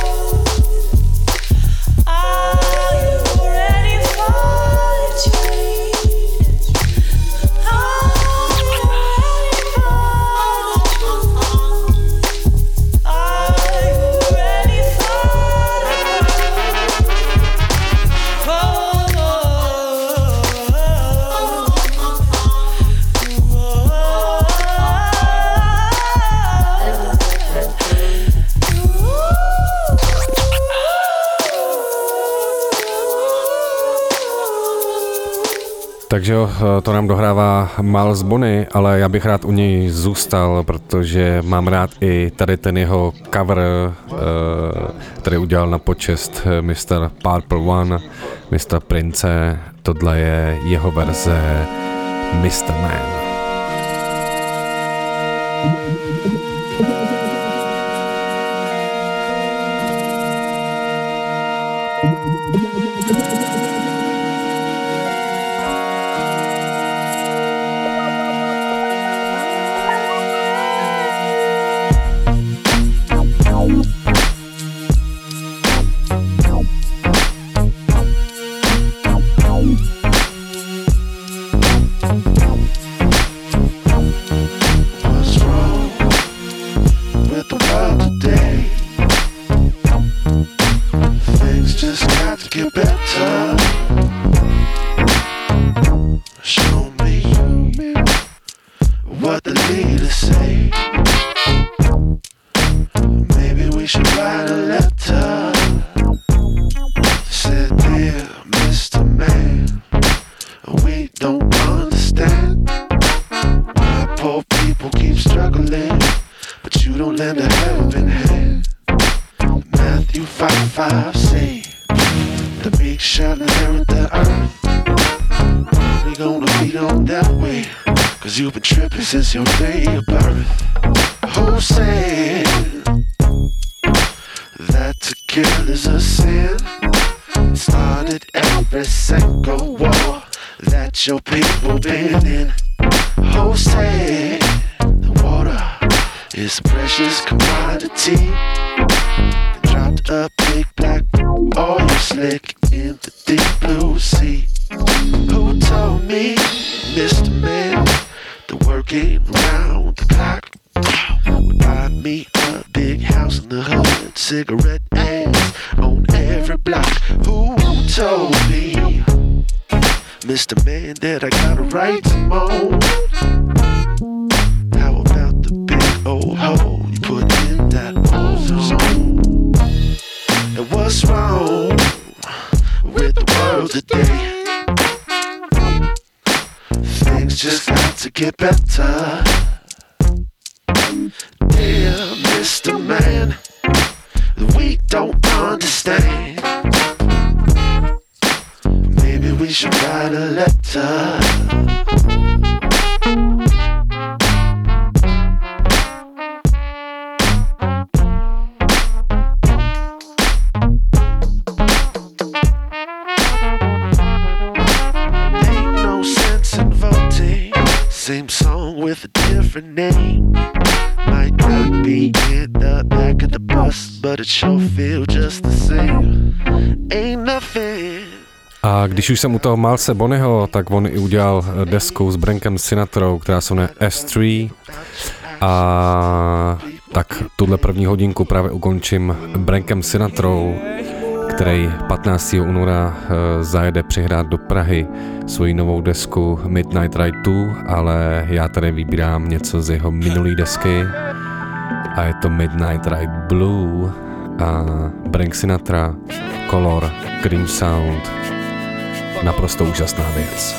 Speaker 3: it? Are you ready for the change? Are you ready for the truth? Are you ready for it? Oh.
Speaker 2: Takže jo, to nám dohrává Miles Bonny, ale já bych rád u něj zůstal, protože mám rád i tady ten jeho cover, který udělal na počest mister Purple One, mistra Prince. Tohle je jeho verze mister Man.
Speaker 11: Since your day of birth, who said that to kill is a sin? It started every single war that your people been in. Who said the water is a precious commodity? They dropped a big black oil slick in the deep blue sea. Who told me, Mister Man, the work ain't round the clock? Would buy me a big house in the hood, cigarette ads on every block. Who told me, Mister Man, that I got a right to moan? How about the big old hole you put in that ozone? And what's wrong with the world today? Things just got to get better. Dear Mister Man, we don't understand. Maybe we should write a letter. with a different name. Might not be in the back of the bus, but it sure feel just the same. Ain't nothing.
Speaker 2: A když už jsem u toho Milese Bonnyho, tak on i udělal desku s Brankem Sinatrou, která se jmenuje S tři. A tak tuhle první hodinku právě ukončím Brankem Sinatrou, který patnáctého února zajede přihrát do Prahy svoji novou desku Midnight Ride dva, ale já tady vybírám něco z jeho minulý desky a je to Midnight Ride Blue a Brank Sinatra, Color, Cream Sound, naprosto úžasná věc.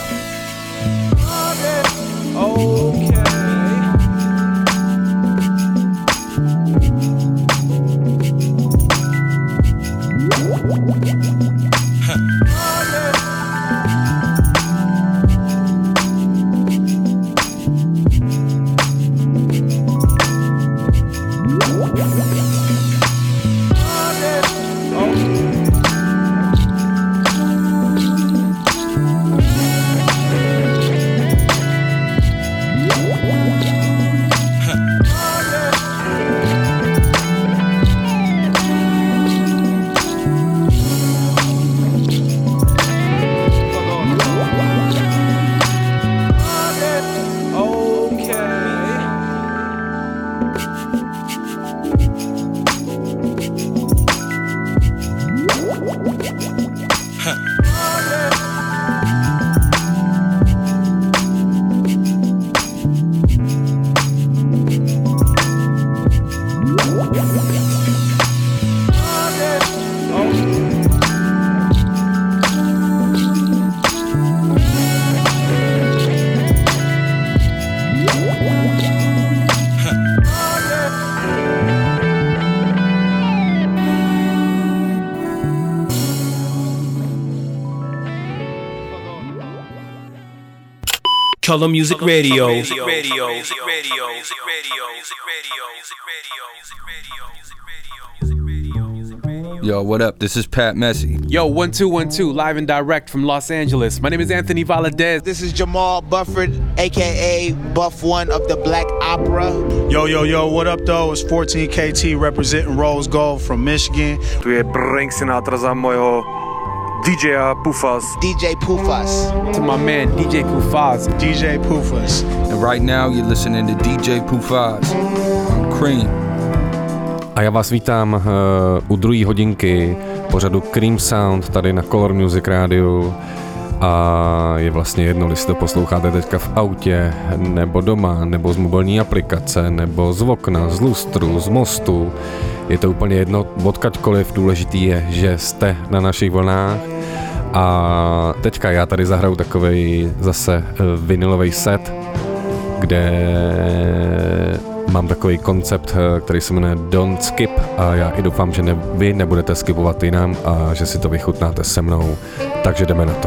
Speaker 12: Color Music Radio.
Speaker 13: Yo, what up? This is Pat Messi.
Speaker 14: Yo, one two one two, live and direct from Los Angeles. My name is Anthony Valadez.
Speaker 15: This is Jamal Bufford, aka Buff One of the Black Opera.
Speaker 16: Yo, yo, yo, what up though? It's fourteen K T representing Rose Gold from Michigan.
Speaker 17: Tu je Brank Sinatra za mojho D J Pufas.
Speaker 15: D J Pufas.
Speaker 14: To my man D J Pufas.
Speaker 16: D J Pufas.
Speaker 13: And right now you're listening to D J Pufas on Cream.
Speaker 2: A já vás vítám uh, u druhé hodinky pořadu Cream Sound tady na Color Music Radio. A je vlastně jedno, jestli to posloucháte teďka v autě, nebo doma, nebo z mobilní aplikace, nebo z okna, z lustru, z mostu. Je to úplně jedno, odkaďkoliv. Důležitý je, že jste na našich vlnách. A teďka já tady zahraju takovej zase vinylový set, kde mám takový koncept, který se jmenuje Don't Skip a já i doufám, že ne, vy nebudete skipovat jinam a že si to vychutnáte se mnou. Takže jdeme na to.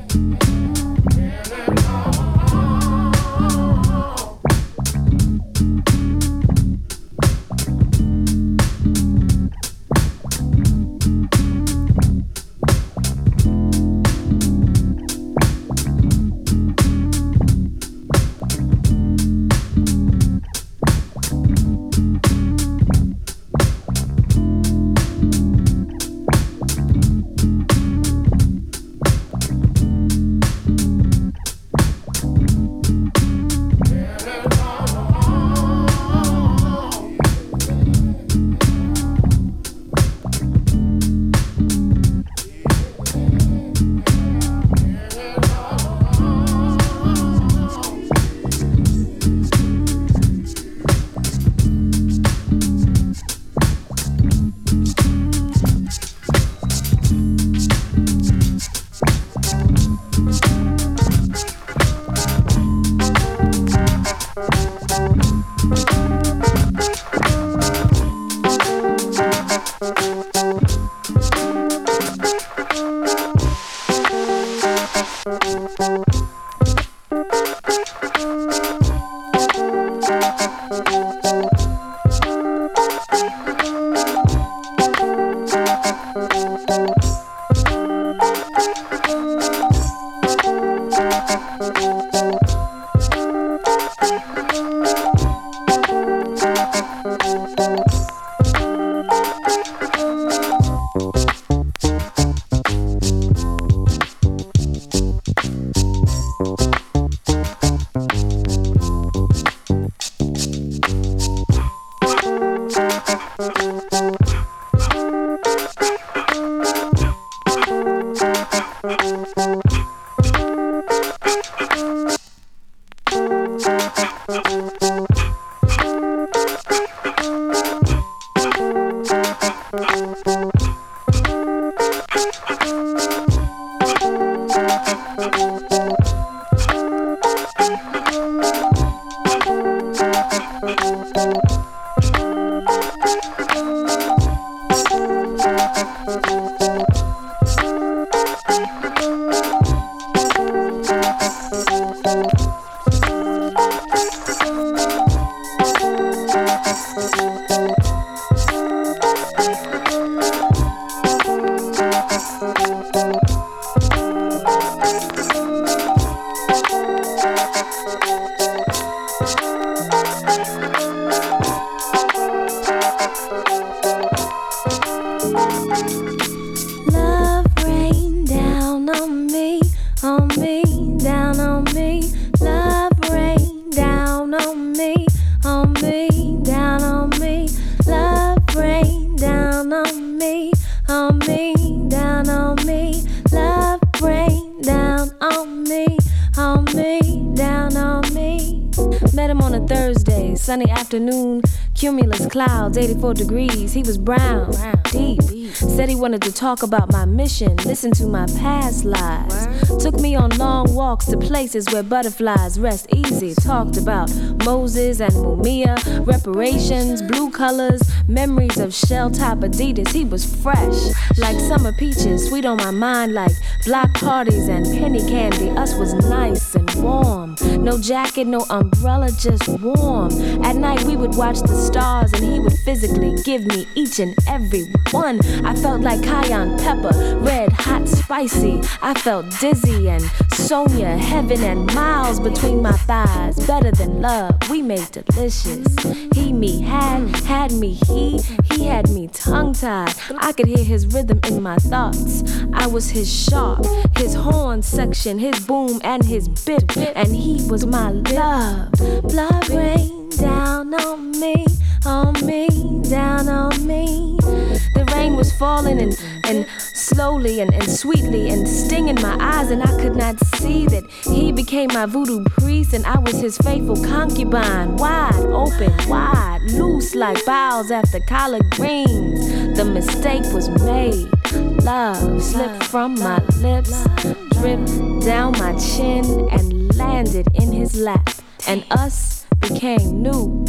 Speaker 18: Sunny afternoon, cumulus clouds, eighty-four degrees. He was brown, deep. Said he wanted to talk about my mission, listen to my past lives. Took me on long walks to places where butterflies rest easy. Talked about Moses and Mumia, reparations, blue colors, memories of shell-top Adidas. He was fresh, like summer peaches, sweet on my mind like block parties and penny candy. Us was nice and warm. No jacket, no umbrella, just warm. At night we would watch the stars and he would physically give me each and every one. I felt like cayenne pepper, red, hot, spicy. I felt dizzy and Sonia, heaven and miles between my thighs. Better than love, we made delicious. He, me, had, had me, he, he had me tongue-tied. I could hear his rhythm in my thoughts. I was his sharp, his horn section, his boom and his bip, and he was my love. Blood rain down on me, on me, down on me. The rain was falling and, and slowly and, and sweetly and stinging my eyes, and I could not see that he became my voodoo priest and I was his faithful concubine. Wide open, wide, loose like boughs after collard greens. The mistake was made. Love slipped from my lips, dripped down my chin and landed in his lap. And us became new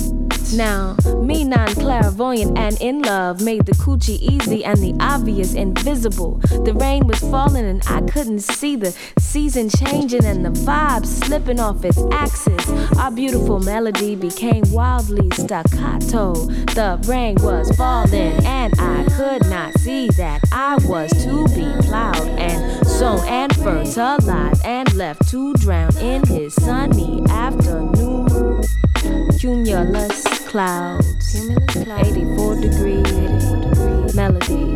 Speaker 18: Now, me non-clairvoyant and in love made the coochie easy and the obvious invisible. The rain was falling and I couldn't see the season changing and the vibe slipping off its axis. Our beautiful melody became wildly staccato. The rain was falling and I could not see that I was to be plowed and sown and fertilized and left to drown in his sunny afternoon. Cumulus clouds, eighty-four degree melody.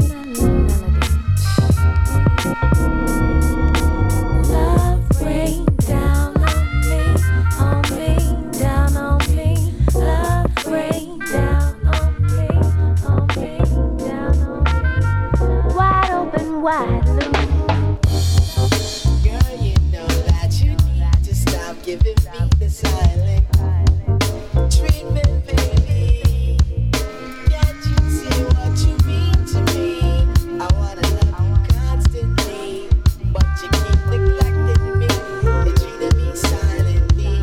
Speaker 3: Love rain down on me, on me, down on me. Love rain down on me, on me, down on me. Wide open, wide loop.
Speaker 19: Girl, you know that you need to stop giving me the silent treatment, baby. Can't you see what you mean to me? I wanna love you constantly, but you keep neglecting me and treating me silently.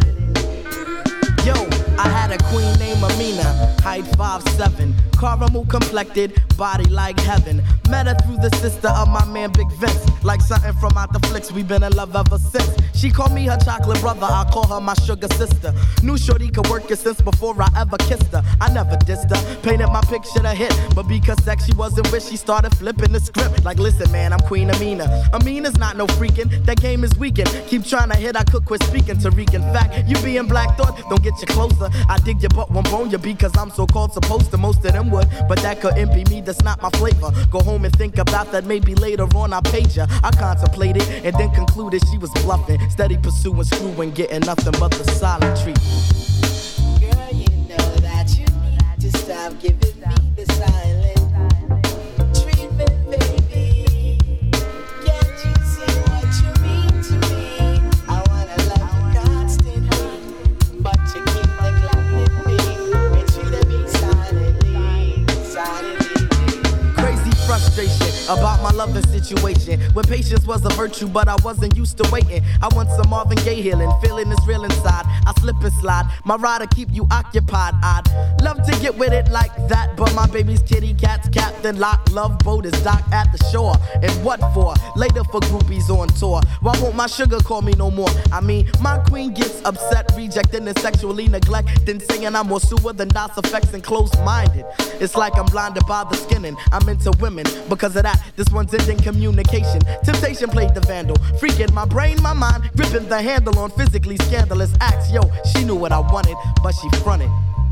Speaker 20: Yo, I had a queen named Amina, height five seven, caramel complected, body like heaven. Met her through the sister of my man Big Vince. Like something from out the flicks, we been in love ever since. She called me her chocolate brother, I call her my sugar sister. Knew shorty could work it since before I ever kissed her. I never dissed her, painted my picture to hit. But because sex she wasn't with, she started flipping the script. Like listen man, I'm Queen Amina. Amina's not no freaking, that game is weakened. Keep trying to hit, I could quit speaking. Tariq, in fact, you being Black Thought, don't get you closer. I dig your butt, won't bone you because I'm so called supposed to. Most of them would, but that couldn't be me, that's not my flavor. Go home and think about that, maybe later on I paid ya. I contemplated and then concluded she was bluffing. Steady pursuing, screwing, getting nothing but the silent treatment.
Speaker 19: Girl, you know that you need to stop giving me the silent treatment, baby. Can't you see what you mean to me? I wanna love you constantly, but you keep neglecting me and treating me silently, silently.
Speaker 20: Crazy frustration about my loving situation. When patience was a virtue, but I wasn't used to waiting. I want some Marvin Gaye healing, feeling is real inside. I slip and slide, my ride to keep you occupied. I'd love to get with it like that, but my baby's kitty cat's Captain Lock. Love boat is docked at the shore. And what for? Later for groupies on tour. Why won't my sugar call me no more? I mean, my queen gets upset, rejecting and sexually neglecting, saying I'm more sewer than DOS effects and closed-minded. It's like I'm blinded by the skinning. I'm into women because of that. This one's ending communication. Temptation played the vandal, freaking my brain, my mind, gripping the handle on physically scandalous acts. Yo, she knew what I wanted, but she fronted.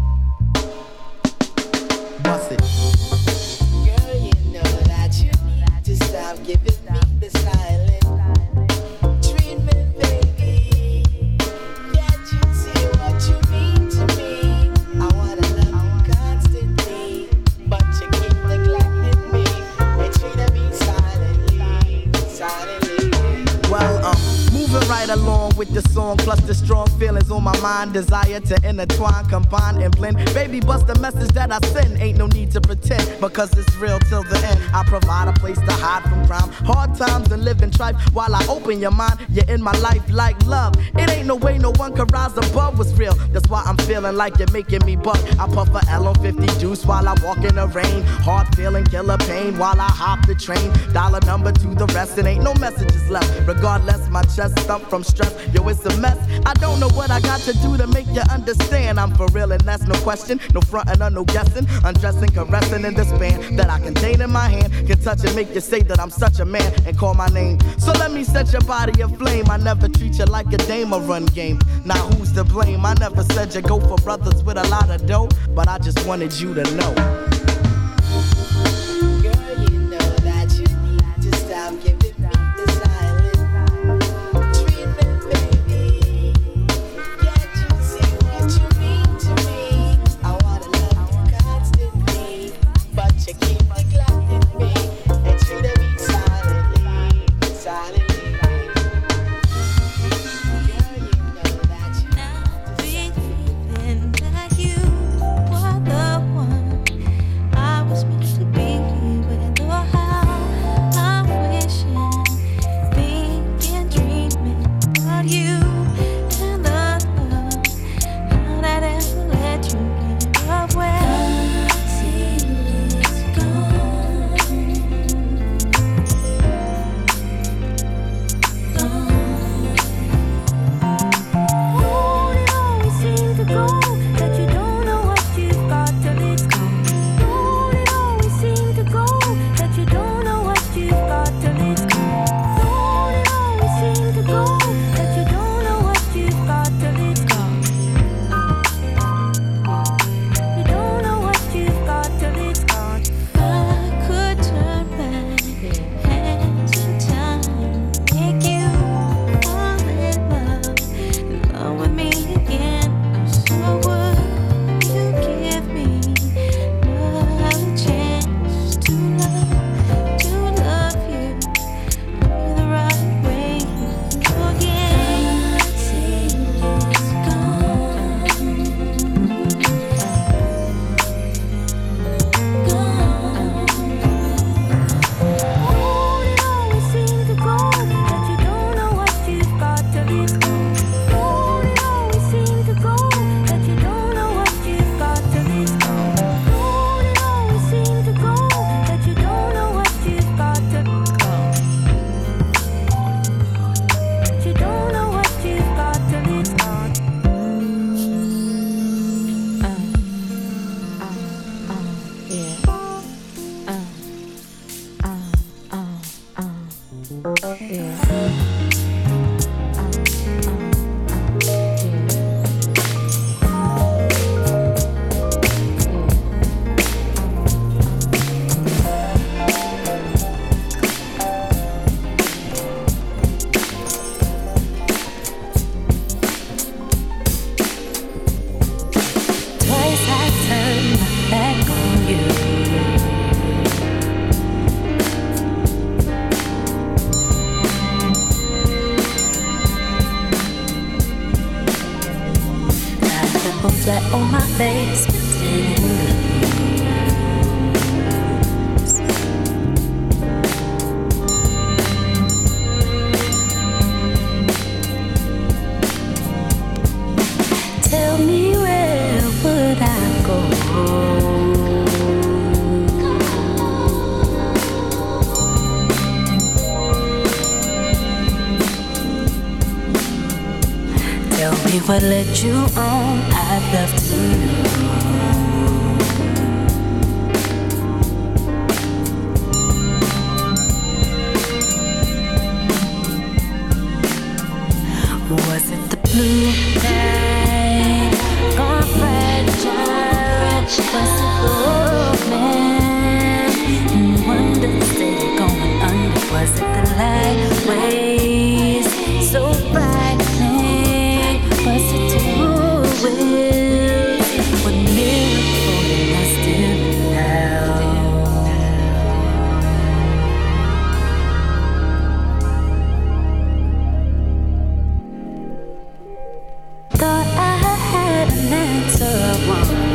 Speaker 20: Bust it.
Speaker 19: Girl, you know that you need to stop giving me the silent treatment, baby. Can't you see what you mean to me? I wanna love you constantly, but you keep neglecting me and treating me silently, silently.
Speaker 20: Well, um, moving right along with the song, plus the strong feelings on my mind, desire to intertwine, combine, and blend. Baby, bust the message that I send. Ain't no need to pretend, because it's real till the end. I provide a place to hide from crime, hard times and living trife. While I open your mind, you're in my life like love. It ain't no way no one can rise above what's real. That's why I'm feeling like you're making me buck. I puff a L on fifty juice while I walk in the rain. Hard feeling, killer pain while I hop the train. Dollar number to the rest, it ain't no messages left. Regardless, my chest stump from stress. Yo, it's a mess. I don't know what I got to do to make you understand. I'm for real and that's no question. No frontin' or no guessing. Undressing, caressing in this band that I contain in my hand. Can touch and make you say that I'm such a man and call my name. So let me set your body aflame. I never treat you like a dame or run game. Now who's to blame? I never said you go for brothers with a lot of dough, but I just wanted you to know.
Speaker 19: Girl, you know that you need to stop giving me the silent treatment, baby. Can't you see what you mean to me? I wanna love you constantly, but you keep neglecting me and treating me silently, silently. Girl, you know that you
Speaker 3: Now be feeling like you were the one Flat on my face, tell me where would I go? Tell me what led you on, I'd love to know. Was it the blue night, gone fragile? Was it the old man in wonder, steady going under? Was it the light waves so frightening? Was it two wills? What miracle did I still now? Thought I had an answer once.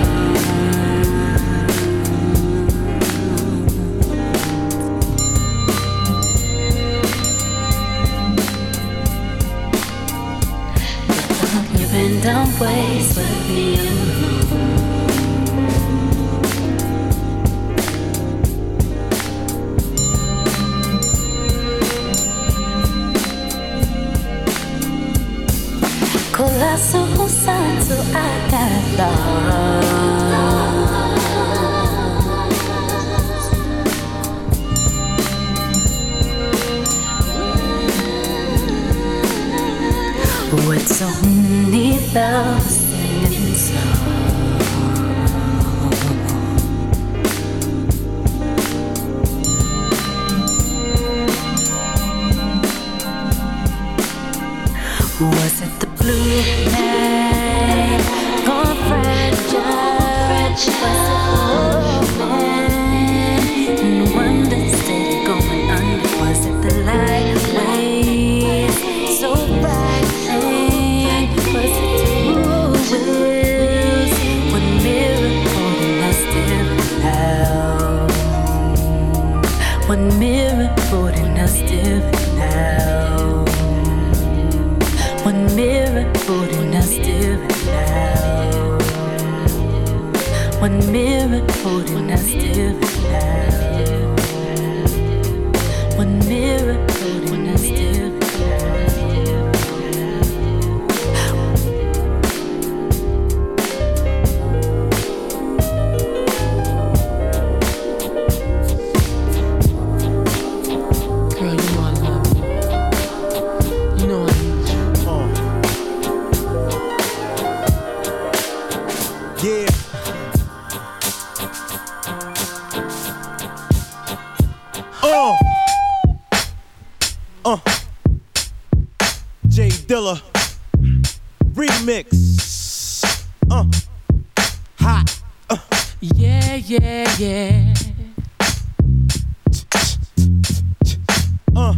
Speaker 3: You've been down ways with me alone. Colossal sign, so I got lost. With so many loves singing songs, was it the blue night, gone fragile? Was it the old man in wonder, steady going under? Was it the light waves so frightening? Was it two wills? What miracle did I still have? What miracle did I still have? What miracle did I still have? What miracle did I still have? What miracle did I still have?
Speaker 21: Girl, you know I love you. You know
Speaker 8: J Dilla remix. Uh, hot. Uh.
Speaker 3: Yeah, yeah, yeah.
Speaker 8: Uh.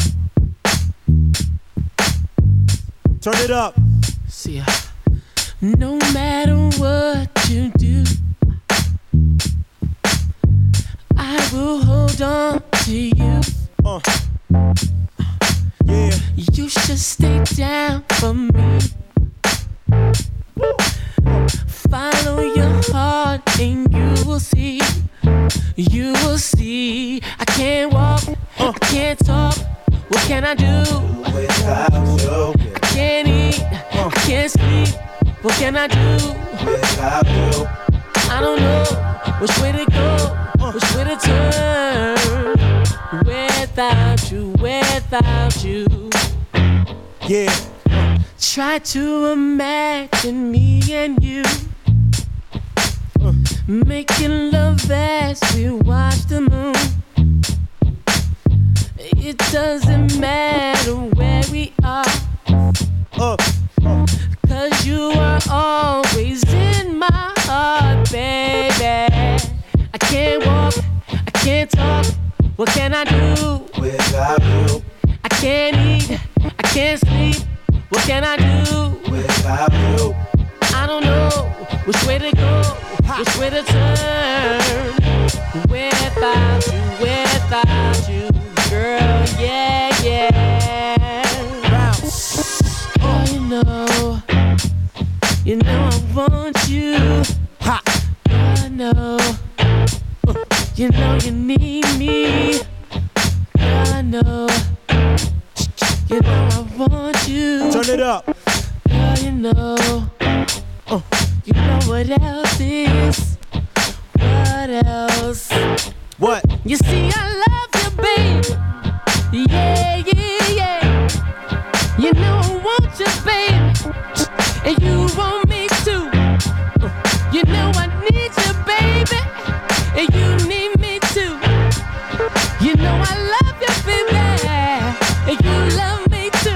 Speaker 8: Turn it up.
Speaker 3: See ya. No matter what you do, I will hold on to you.
Speaker 8: Uh. Yeah.
Speaker 3: You should stay down for me. Follow your heart and you will see. You will see. I can't walk, uh. I can't talk. What can I do
Speaker 8: without you?
Speaker 3: I can't eat, uh. I can't sleep. What can I do
Speaker 8: without you?
Speaker 3: I don't know which way to go, uh. which way to turn. Without you, without you.
Speaker 8: Yeah.
Speaker 3: Try to imagine me and you uh. making love as we watch the moon. It doesn't matter where we are,
Speaker 8: uh. Uh.
Speaker 3: Cause you are always in my heart, baby. I can't walk, I can't talk. What can I do
Speaker 8: without you?
Speaker 3: I can't eat, I can't sleep. What can I do
Speaker 8: without you?
Speaker 3: I don't know which way to go, which way to turn. Without you, without you, girl, yeah, yeah. Oh, you know, you know I want you.
Speaker 8: Ha.
Speaker 3: I know, you know you need me. I know. You know I want you.
Speaker 8: Turn it up.
Speaker 3: Girl, you know. Uh. You know what else is? What else?
Speaker 8: What?
Speaker 3: You see, I love you, baby. Yeah, yeah, yeah. You know I want you, baby. And you want me too. Uh. You know I need you, baby. And you need me too. You know I love you, baby. And you love me too.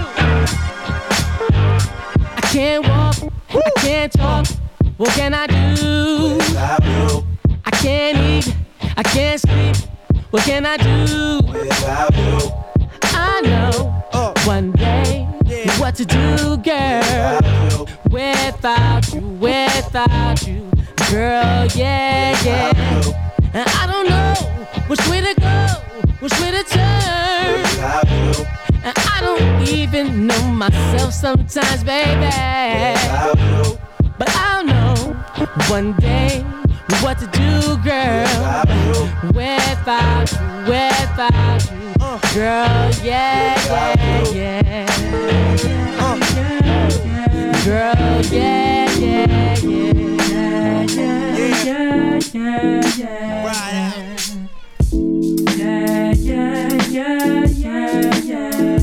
Speaker 3: I can't walk, I can't talk. What can I do
Speaker 8: without you?
Speaker 3: I can't eat, I can't sleep. What can I do
Speaker 8: without you?
Speaker 3: I know uh. one day yeah. what to do, girl. Without you, without you, girl, yeah, yeah. And I don't know which way to go, which way to turn.
Speaker 8: Without you.
Speaker 3: And I don't even know myself sometimes, baby.
Speaker 8: Without you.
Speaker 3: But I'll know one day what to do, girl. Without you, without you, uh. girl, yeah, yeah, yeah. Uh. Girl, yeah, yeah, yeah, yeah, yeah, yeah, yeah.
Speaker 8: Right.
Speaker 3: Yeah, yeah, yeah, yeah, yeah,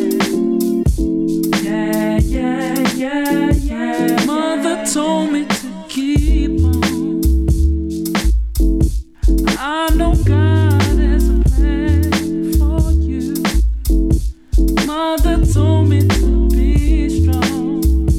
Speaker 3: yeah, yeah, yeah, yeah.
Speaker 21: Mother told me to keep on. I know God has a plan for you. Mother told me to be strong,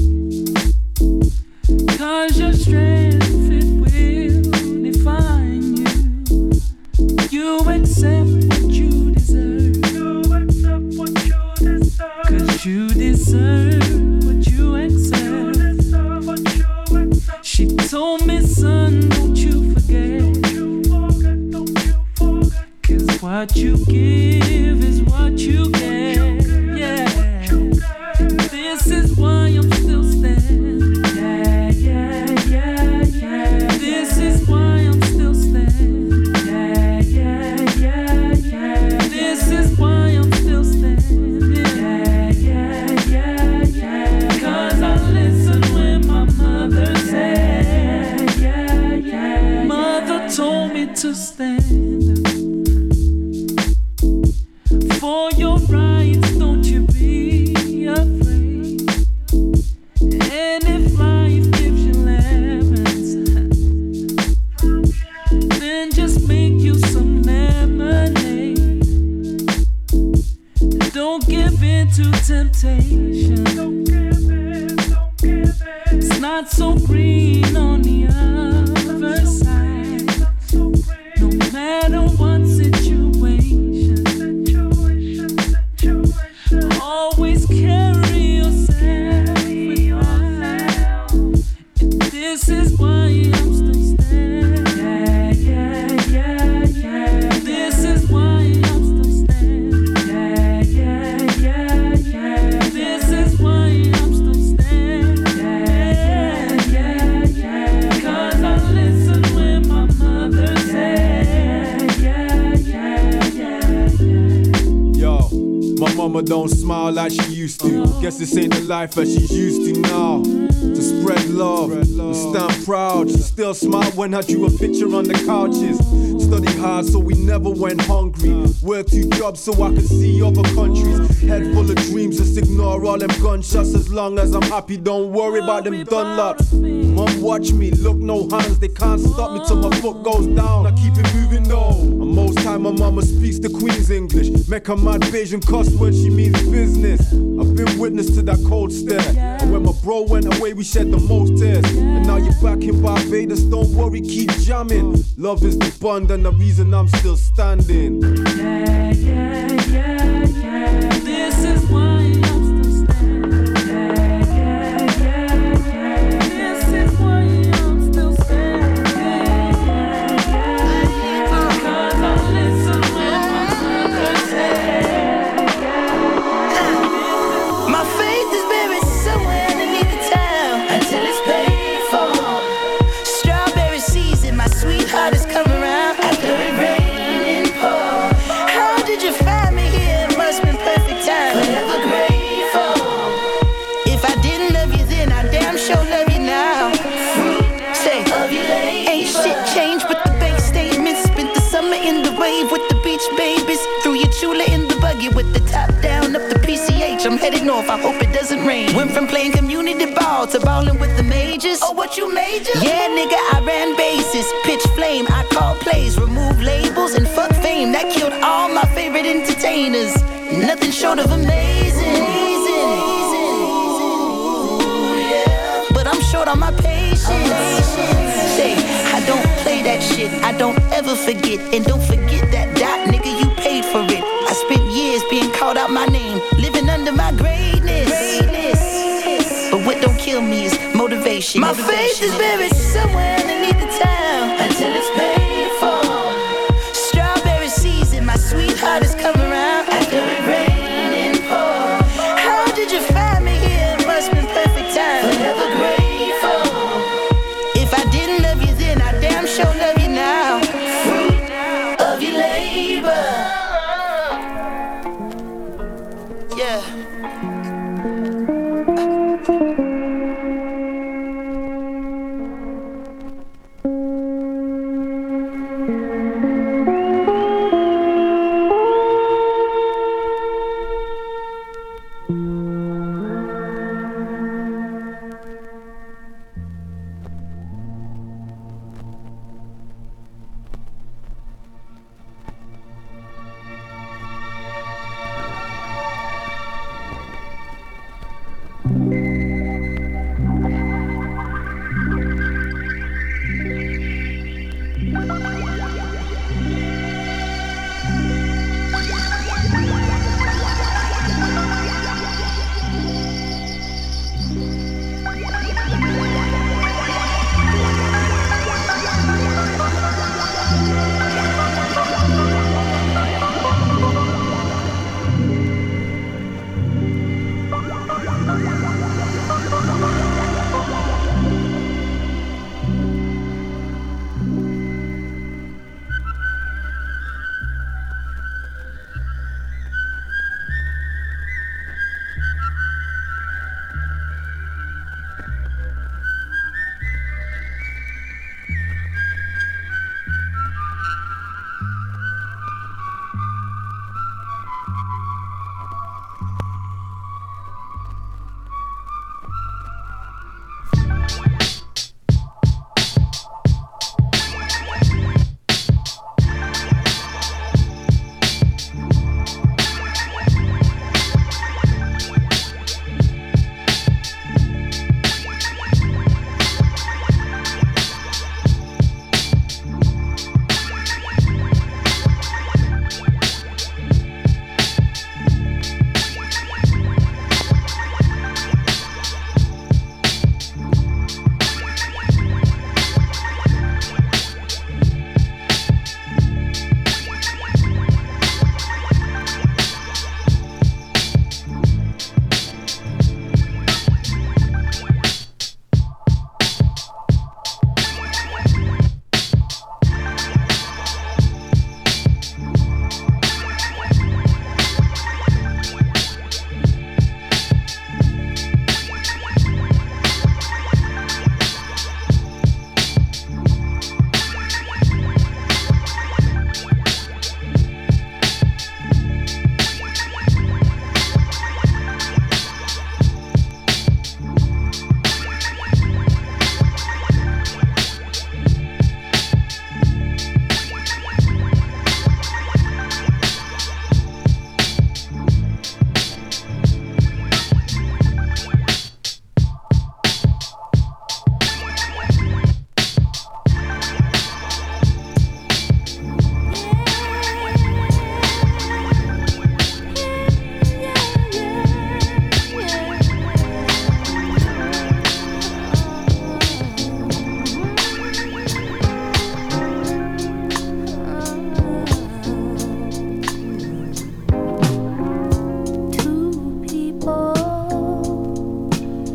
Speaker 21: 'cause your strength, it will define you. You accept what you deserve. You accept what you deserve. 'Cause you deserve what you accept. You deserve what you accept. She told me, son, don't you forget. Don't you forget, don't you forget. 'Cause what you give is what you get. Yeah. This is why I'm still standing. Yeah, yeah, yeah, yeah. This is why I'm still standing. Yeah, yeah, yeah, yeah. This is why I'm still standing. Yeah, yeah, yeah, yeah. 'Cause I listen when my mother said. Yeah, yeah, yeah. Mother told me to stand for your right. It's not so green on the other side. No matter what situation, always carry yourself with yourself. And this is why I'm still standing. Yeah, yeah, yeah, yeah. This is why I'm still standing. Yeah, yeah, yeah, yeah. This is why I'm still standing. Yeah, yeah, yeah. 'Cause I listen when my mother said. Yeah, yeah, yeah, yeah.
Speaker 4: Yo, my mama don't smile like she used to. Guess this ain't the life that she's used to now. To spread love, and stand proud. She still smile when I drew a picture on the couches. Studied hard so we never went hungry. Worked two jobs so I could see other countries. Head full of dreams, just ignore all them gunshots. As long as I'm happy, don't worry about them Dunlops. Mom, watch me, look no hands. They can't stop me till my foot goes down. I keep it moving though. And most time my mama speaks the Queen's English. Make her mad Bayesian cuss when she means business. I've been witness to that cold stare. And when my bro went away, we shed the most tears. And now you're back in Barbados, don't worry, keep jamming. Love is the bond and the reason I'm still standing.
Speaker 21: Yeah, yeah, yeah, yeah. This is why I'm still standing. Yeah, yeah, yeah, yeah. This is why I'm still standing. Yeah, yeah, yeah, yeah. 'Cause I listen when my mother said.
Speaker 19: My faith is buried somewhere underneath the town until it's paid for. Strawberry season, my sweetheart is coming around after it rained and poured. How did you find me here? It must been perfect time. Forever grateful. If I didn't love you then, I damn sure love you now. Say, ain't shit changed but the bank statements. Spent the summer in the wave with the beach babies. Threw your chula in the buggy with the top down up the P C H. I'm headed north, I hope it doesn't rain. Went from playing community ball to balling with the majors. Oh, what you major? Yeah, nigga, I ran bases. Pitch flame, I call plays. Remove labels and fuck fame. That killed all my favorite entertainers. Nothing short of amazing. But I'm short on my patience. Say, I don't play that shit. I don't ever forget. And don't forget that dot, nigga, you paid for it. I spent years being called out my name, living under my greatness. But what don't kill me is motivation. My faith is buried somewhere underneath the town until it's paid for. Strawberry season, my sweetheart is coming around after it rained and poured. How did you find me here? It must been perfect time. Forever grateful. If I didn't love you then, I damn sure love you now. Fruit of your labor. Yeah.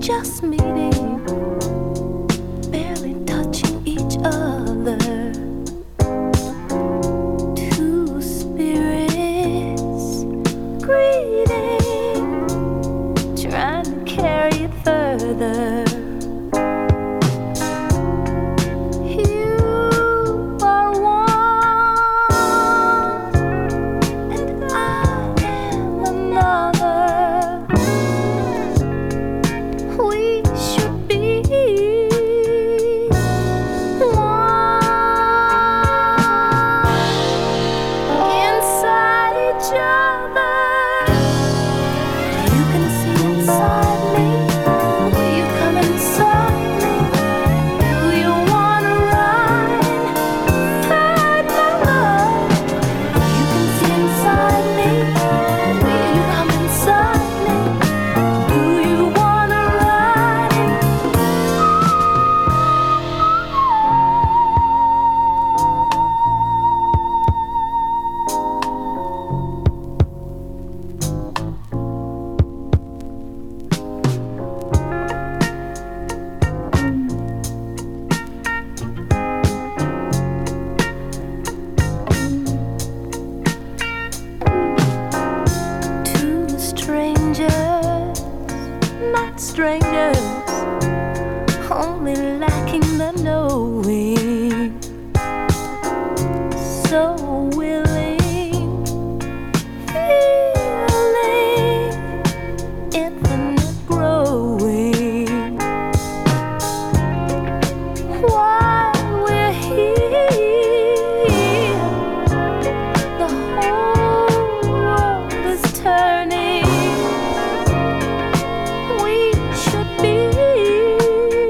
Speaker 18: just meeting, barely touching each other. Two spirits greeting, trying to carry it further.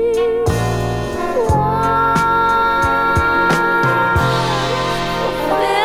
Speaker 18: One.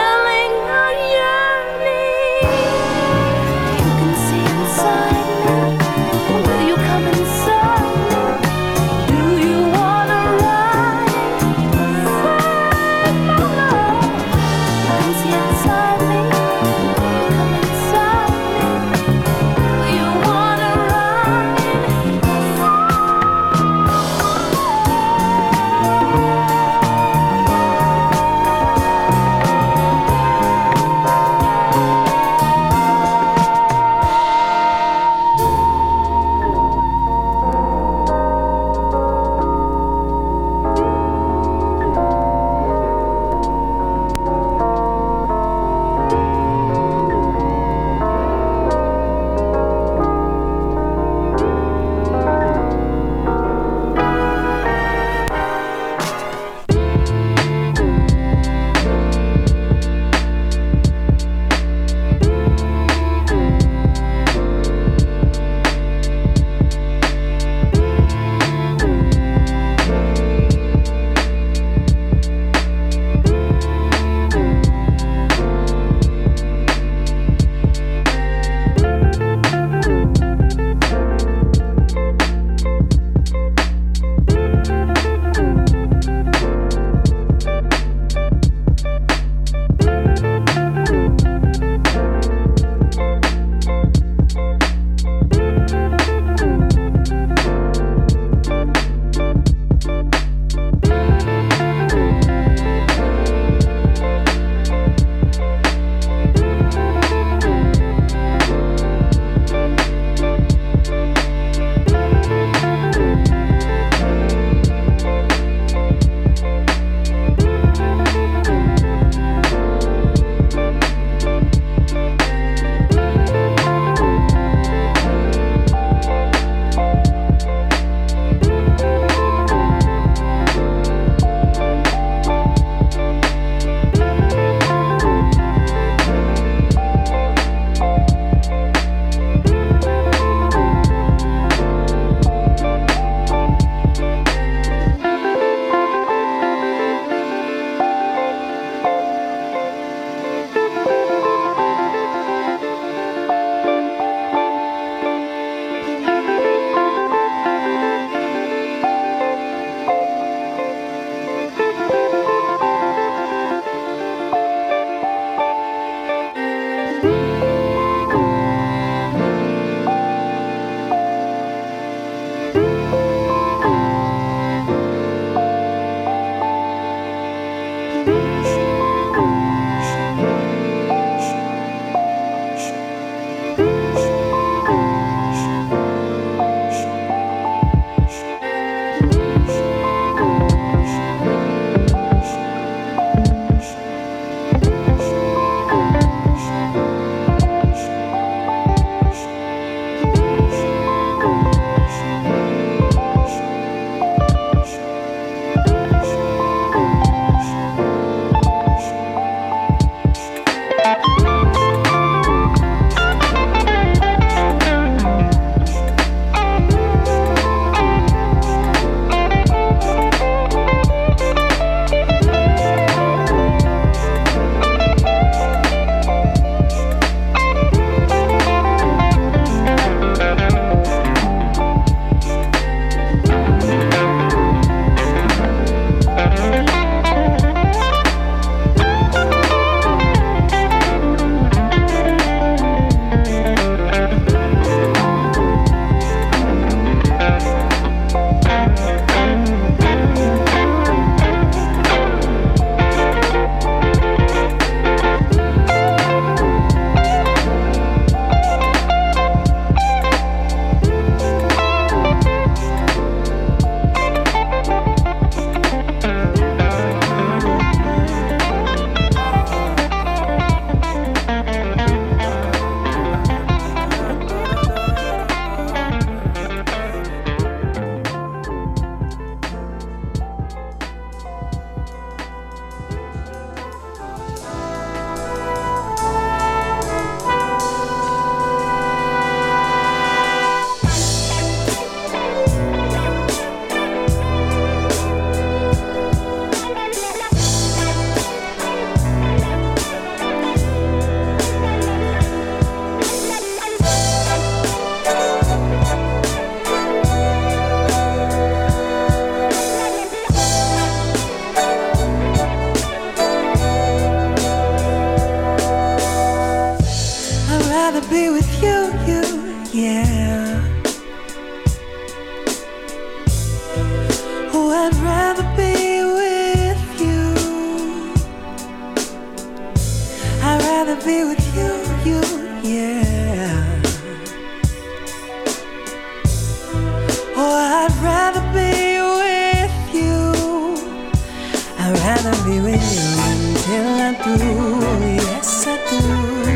Speaker 21: rather be with you until I'm through. Yes, I do.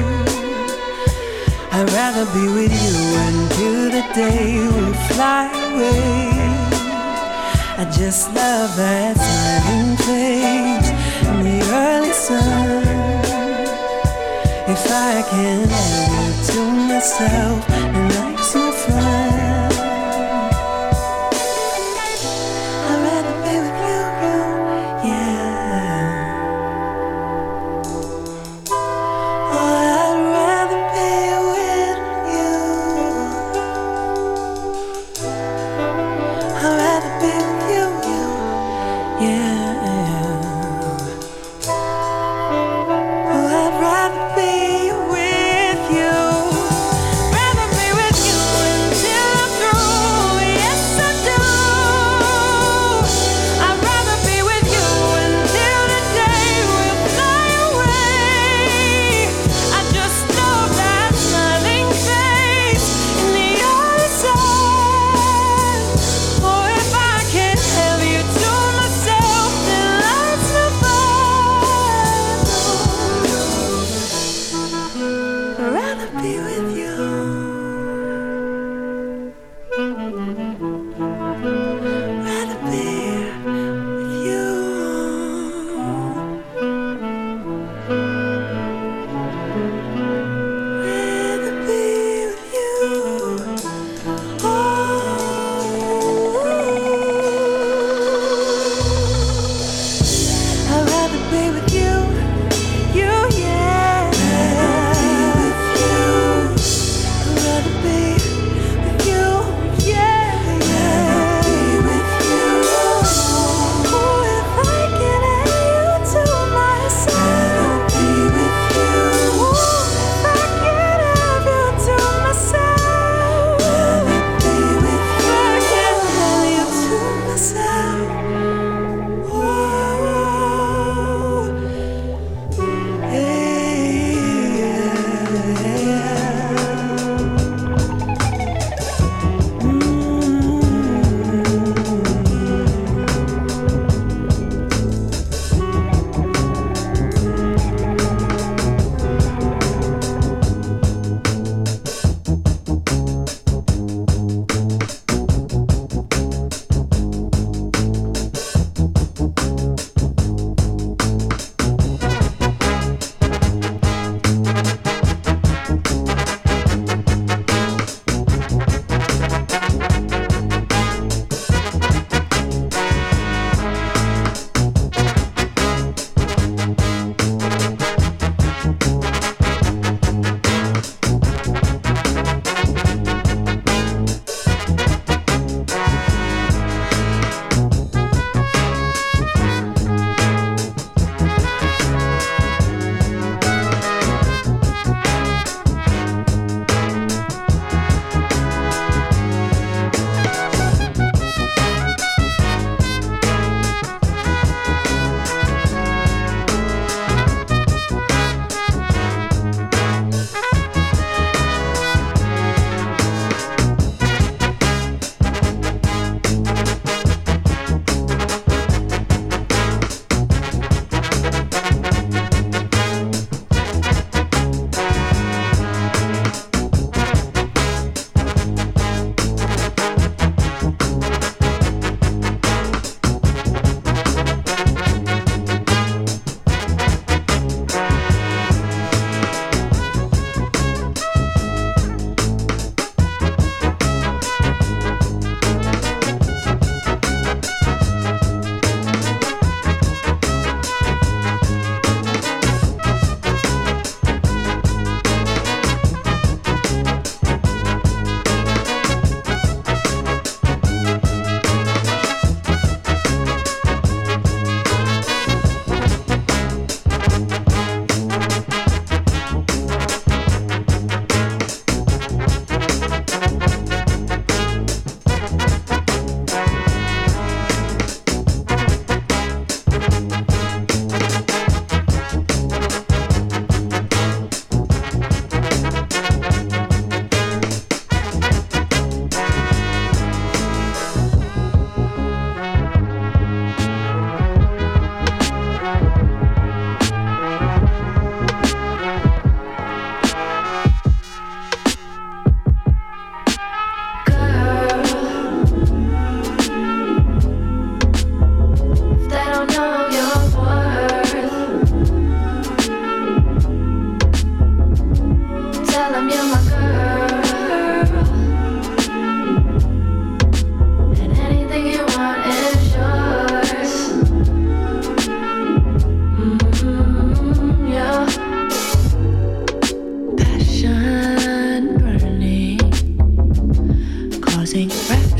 Speaker 21: I'd rather be with you until the day we fly away. I just love that smiling face in the early sun. If I can have you to myself, then life's no fun. I'd rather be with you, you, yeah. Oh, I'd rather be with you. I'd rather be with you, you, yeah. Oh, I'd rather be with you. Rather be with you until I'm through. Yes, I do. I'd rather be with you until the day we'll fly away. I just love that smiling face in the early sun. Oh, if I can't have you to myself, then life's no fun. I'd rather be with you. Rather be with you. Rather be with you. Oh, I'd rather be with you. You, yeah. I'd rather be with you. I'd rather be with you, yeah.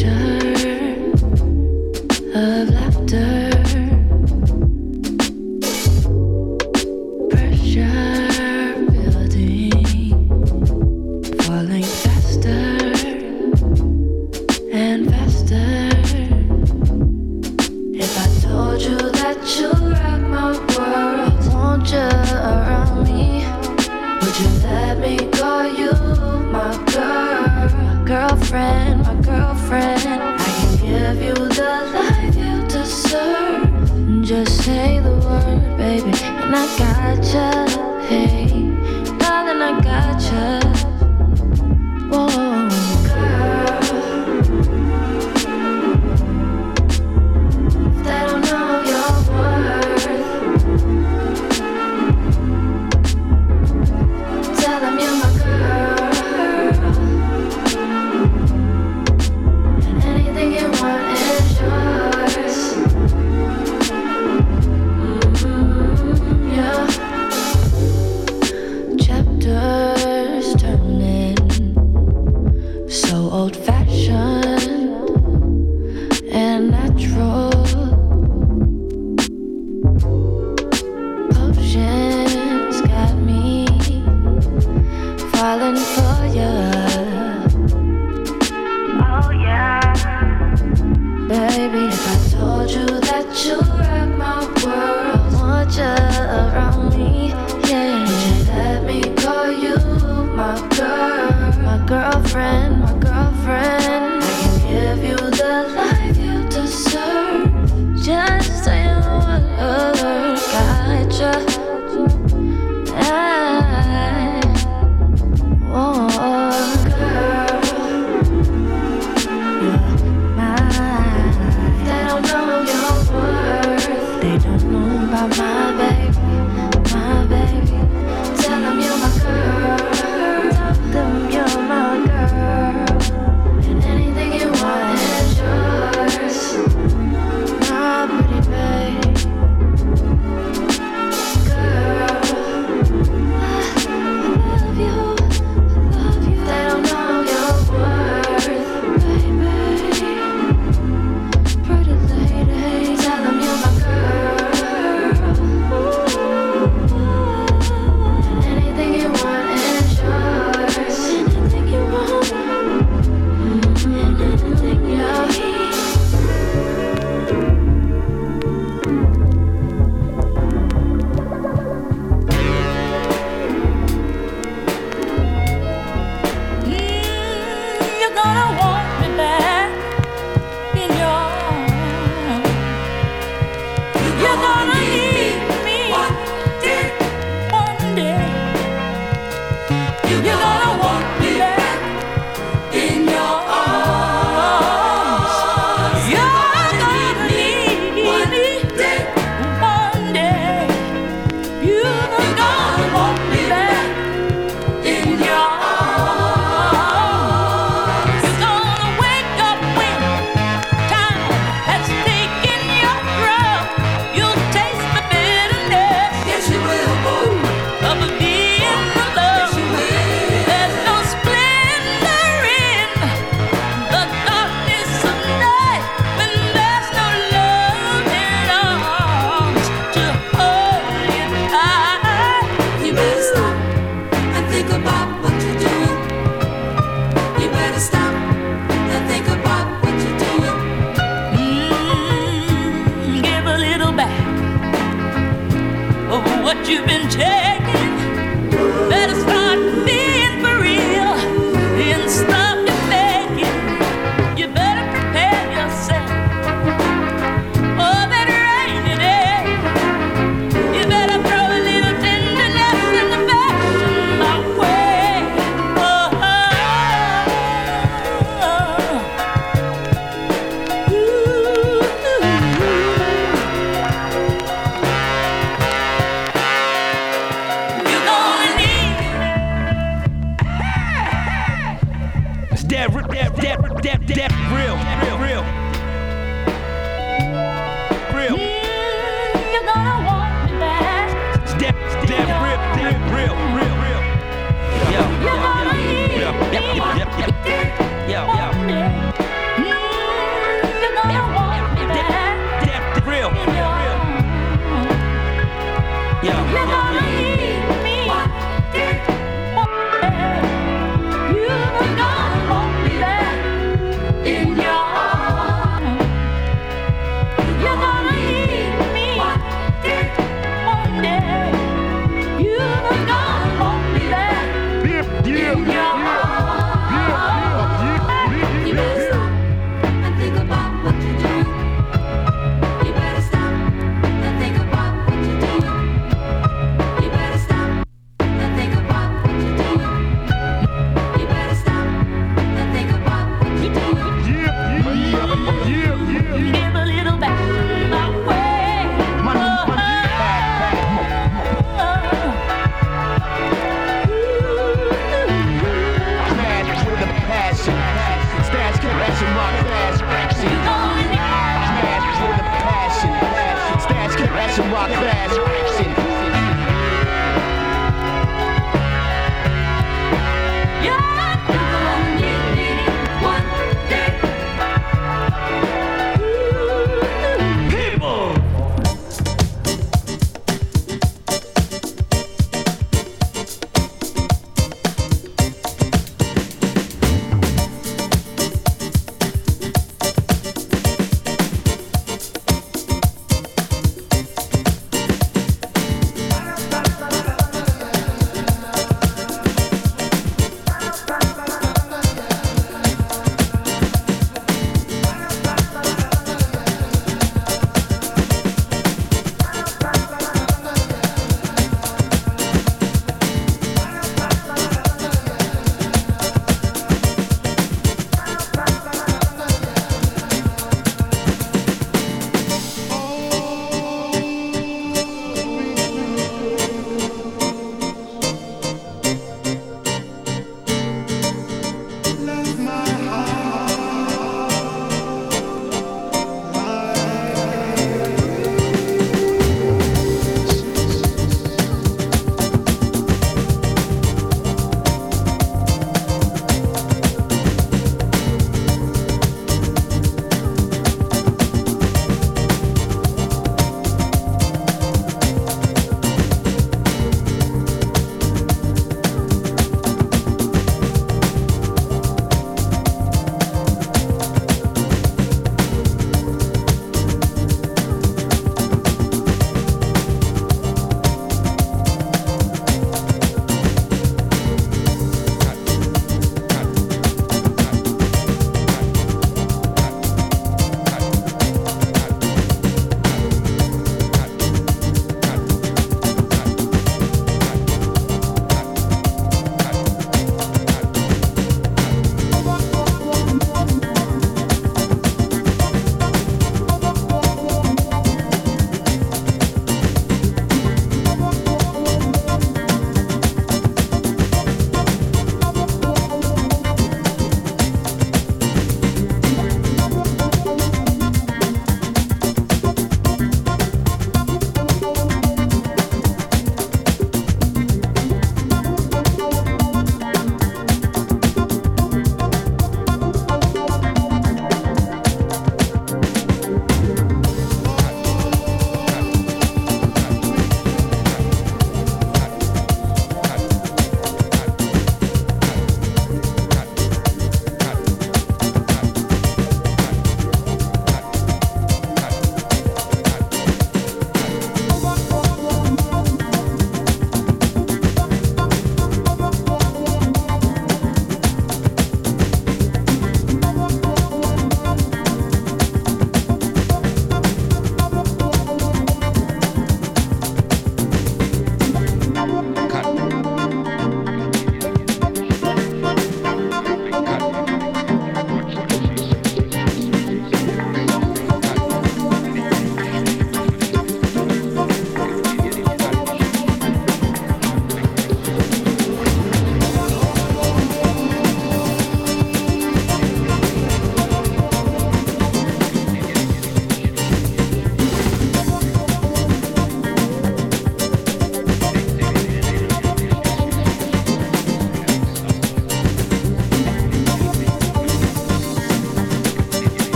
Speaker 21: Yo, yo, yo, yo, yo, yo.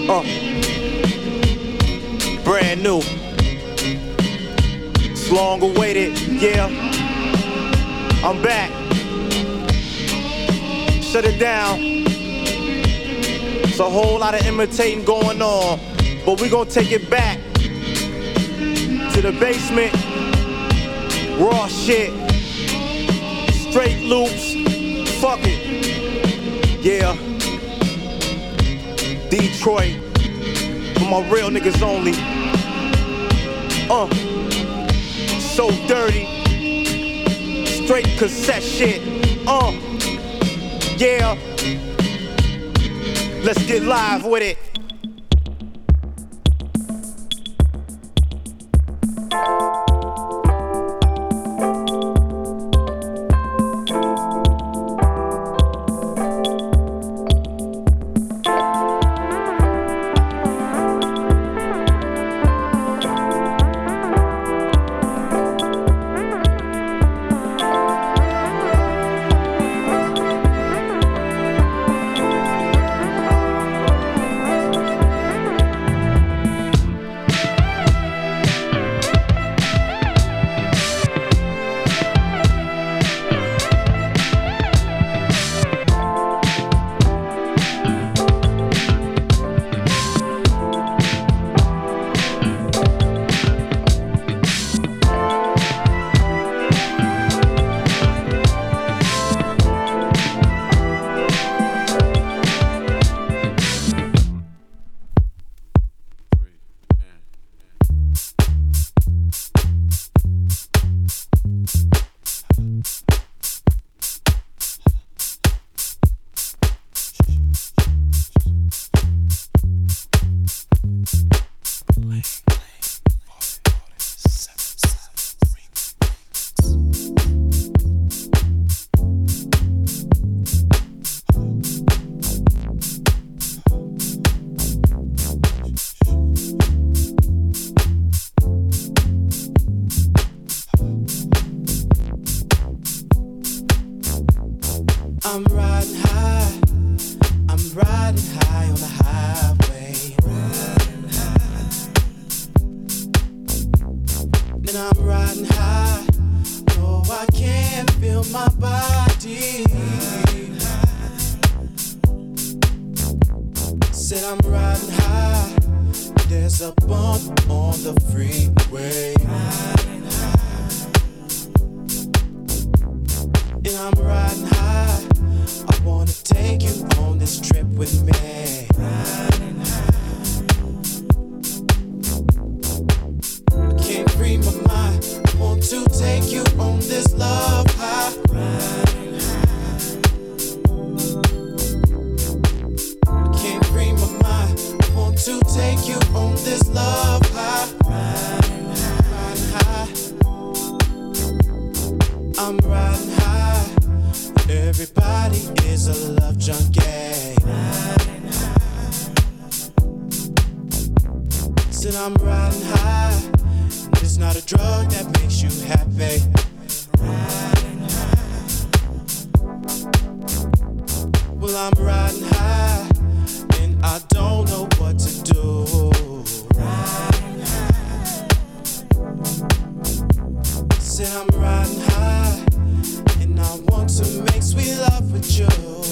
Speaker 15: Uh, brand new. It's long awaited, yeah. I'm back. Shut it down. It's a whole lot of imitating going on, but we gonna take it back to the basement. Raw shit. Straight loops. Fuck it. Yeah. Detroit. For my real niggas only. Uh. So dirty. Straight cassette shit. Uh. Yeah. Let's get live with it.
Speaker 5: I'm riding high, I'm riding high on the highway. Riding high. And I'm riding high, no I can't feel my body. Said I'm riding high, there's a bump on the freeway. Riding high. And I'm riding high, I wanna take you on this trip with me. Riding high. I can't free my mind, I want to take you on this love high. Riding high. I can't free my mind, I want to take you on this love high. Riding high. I'm riding high. Everybody is a love junkie. Riding high. Said I'm riding high. It's not a drug that makes you happy. Riding high. Well, I'm riding high, and I don't know what to do. Riding high. Said I'm riding high, and I want to make sweet love with you.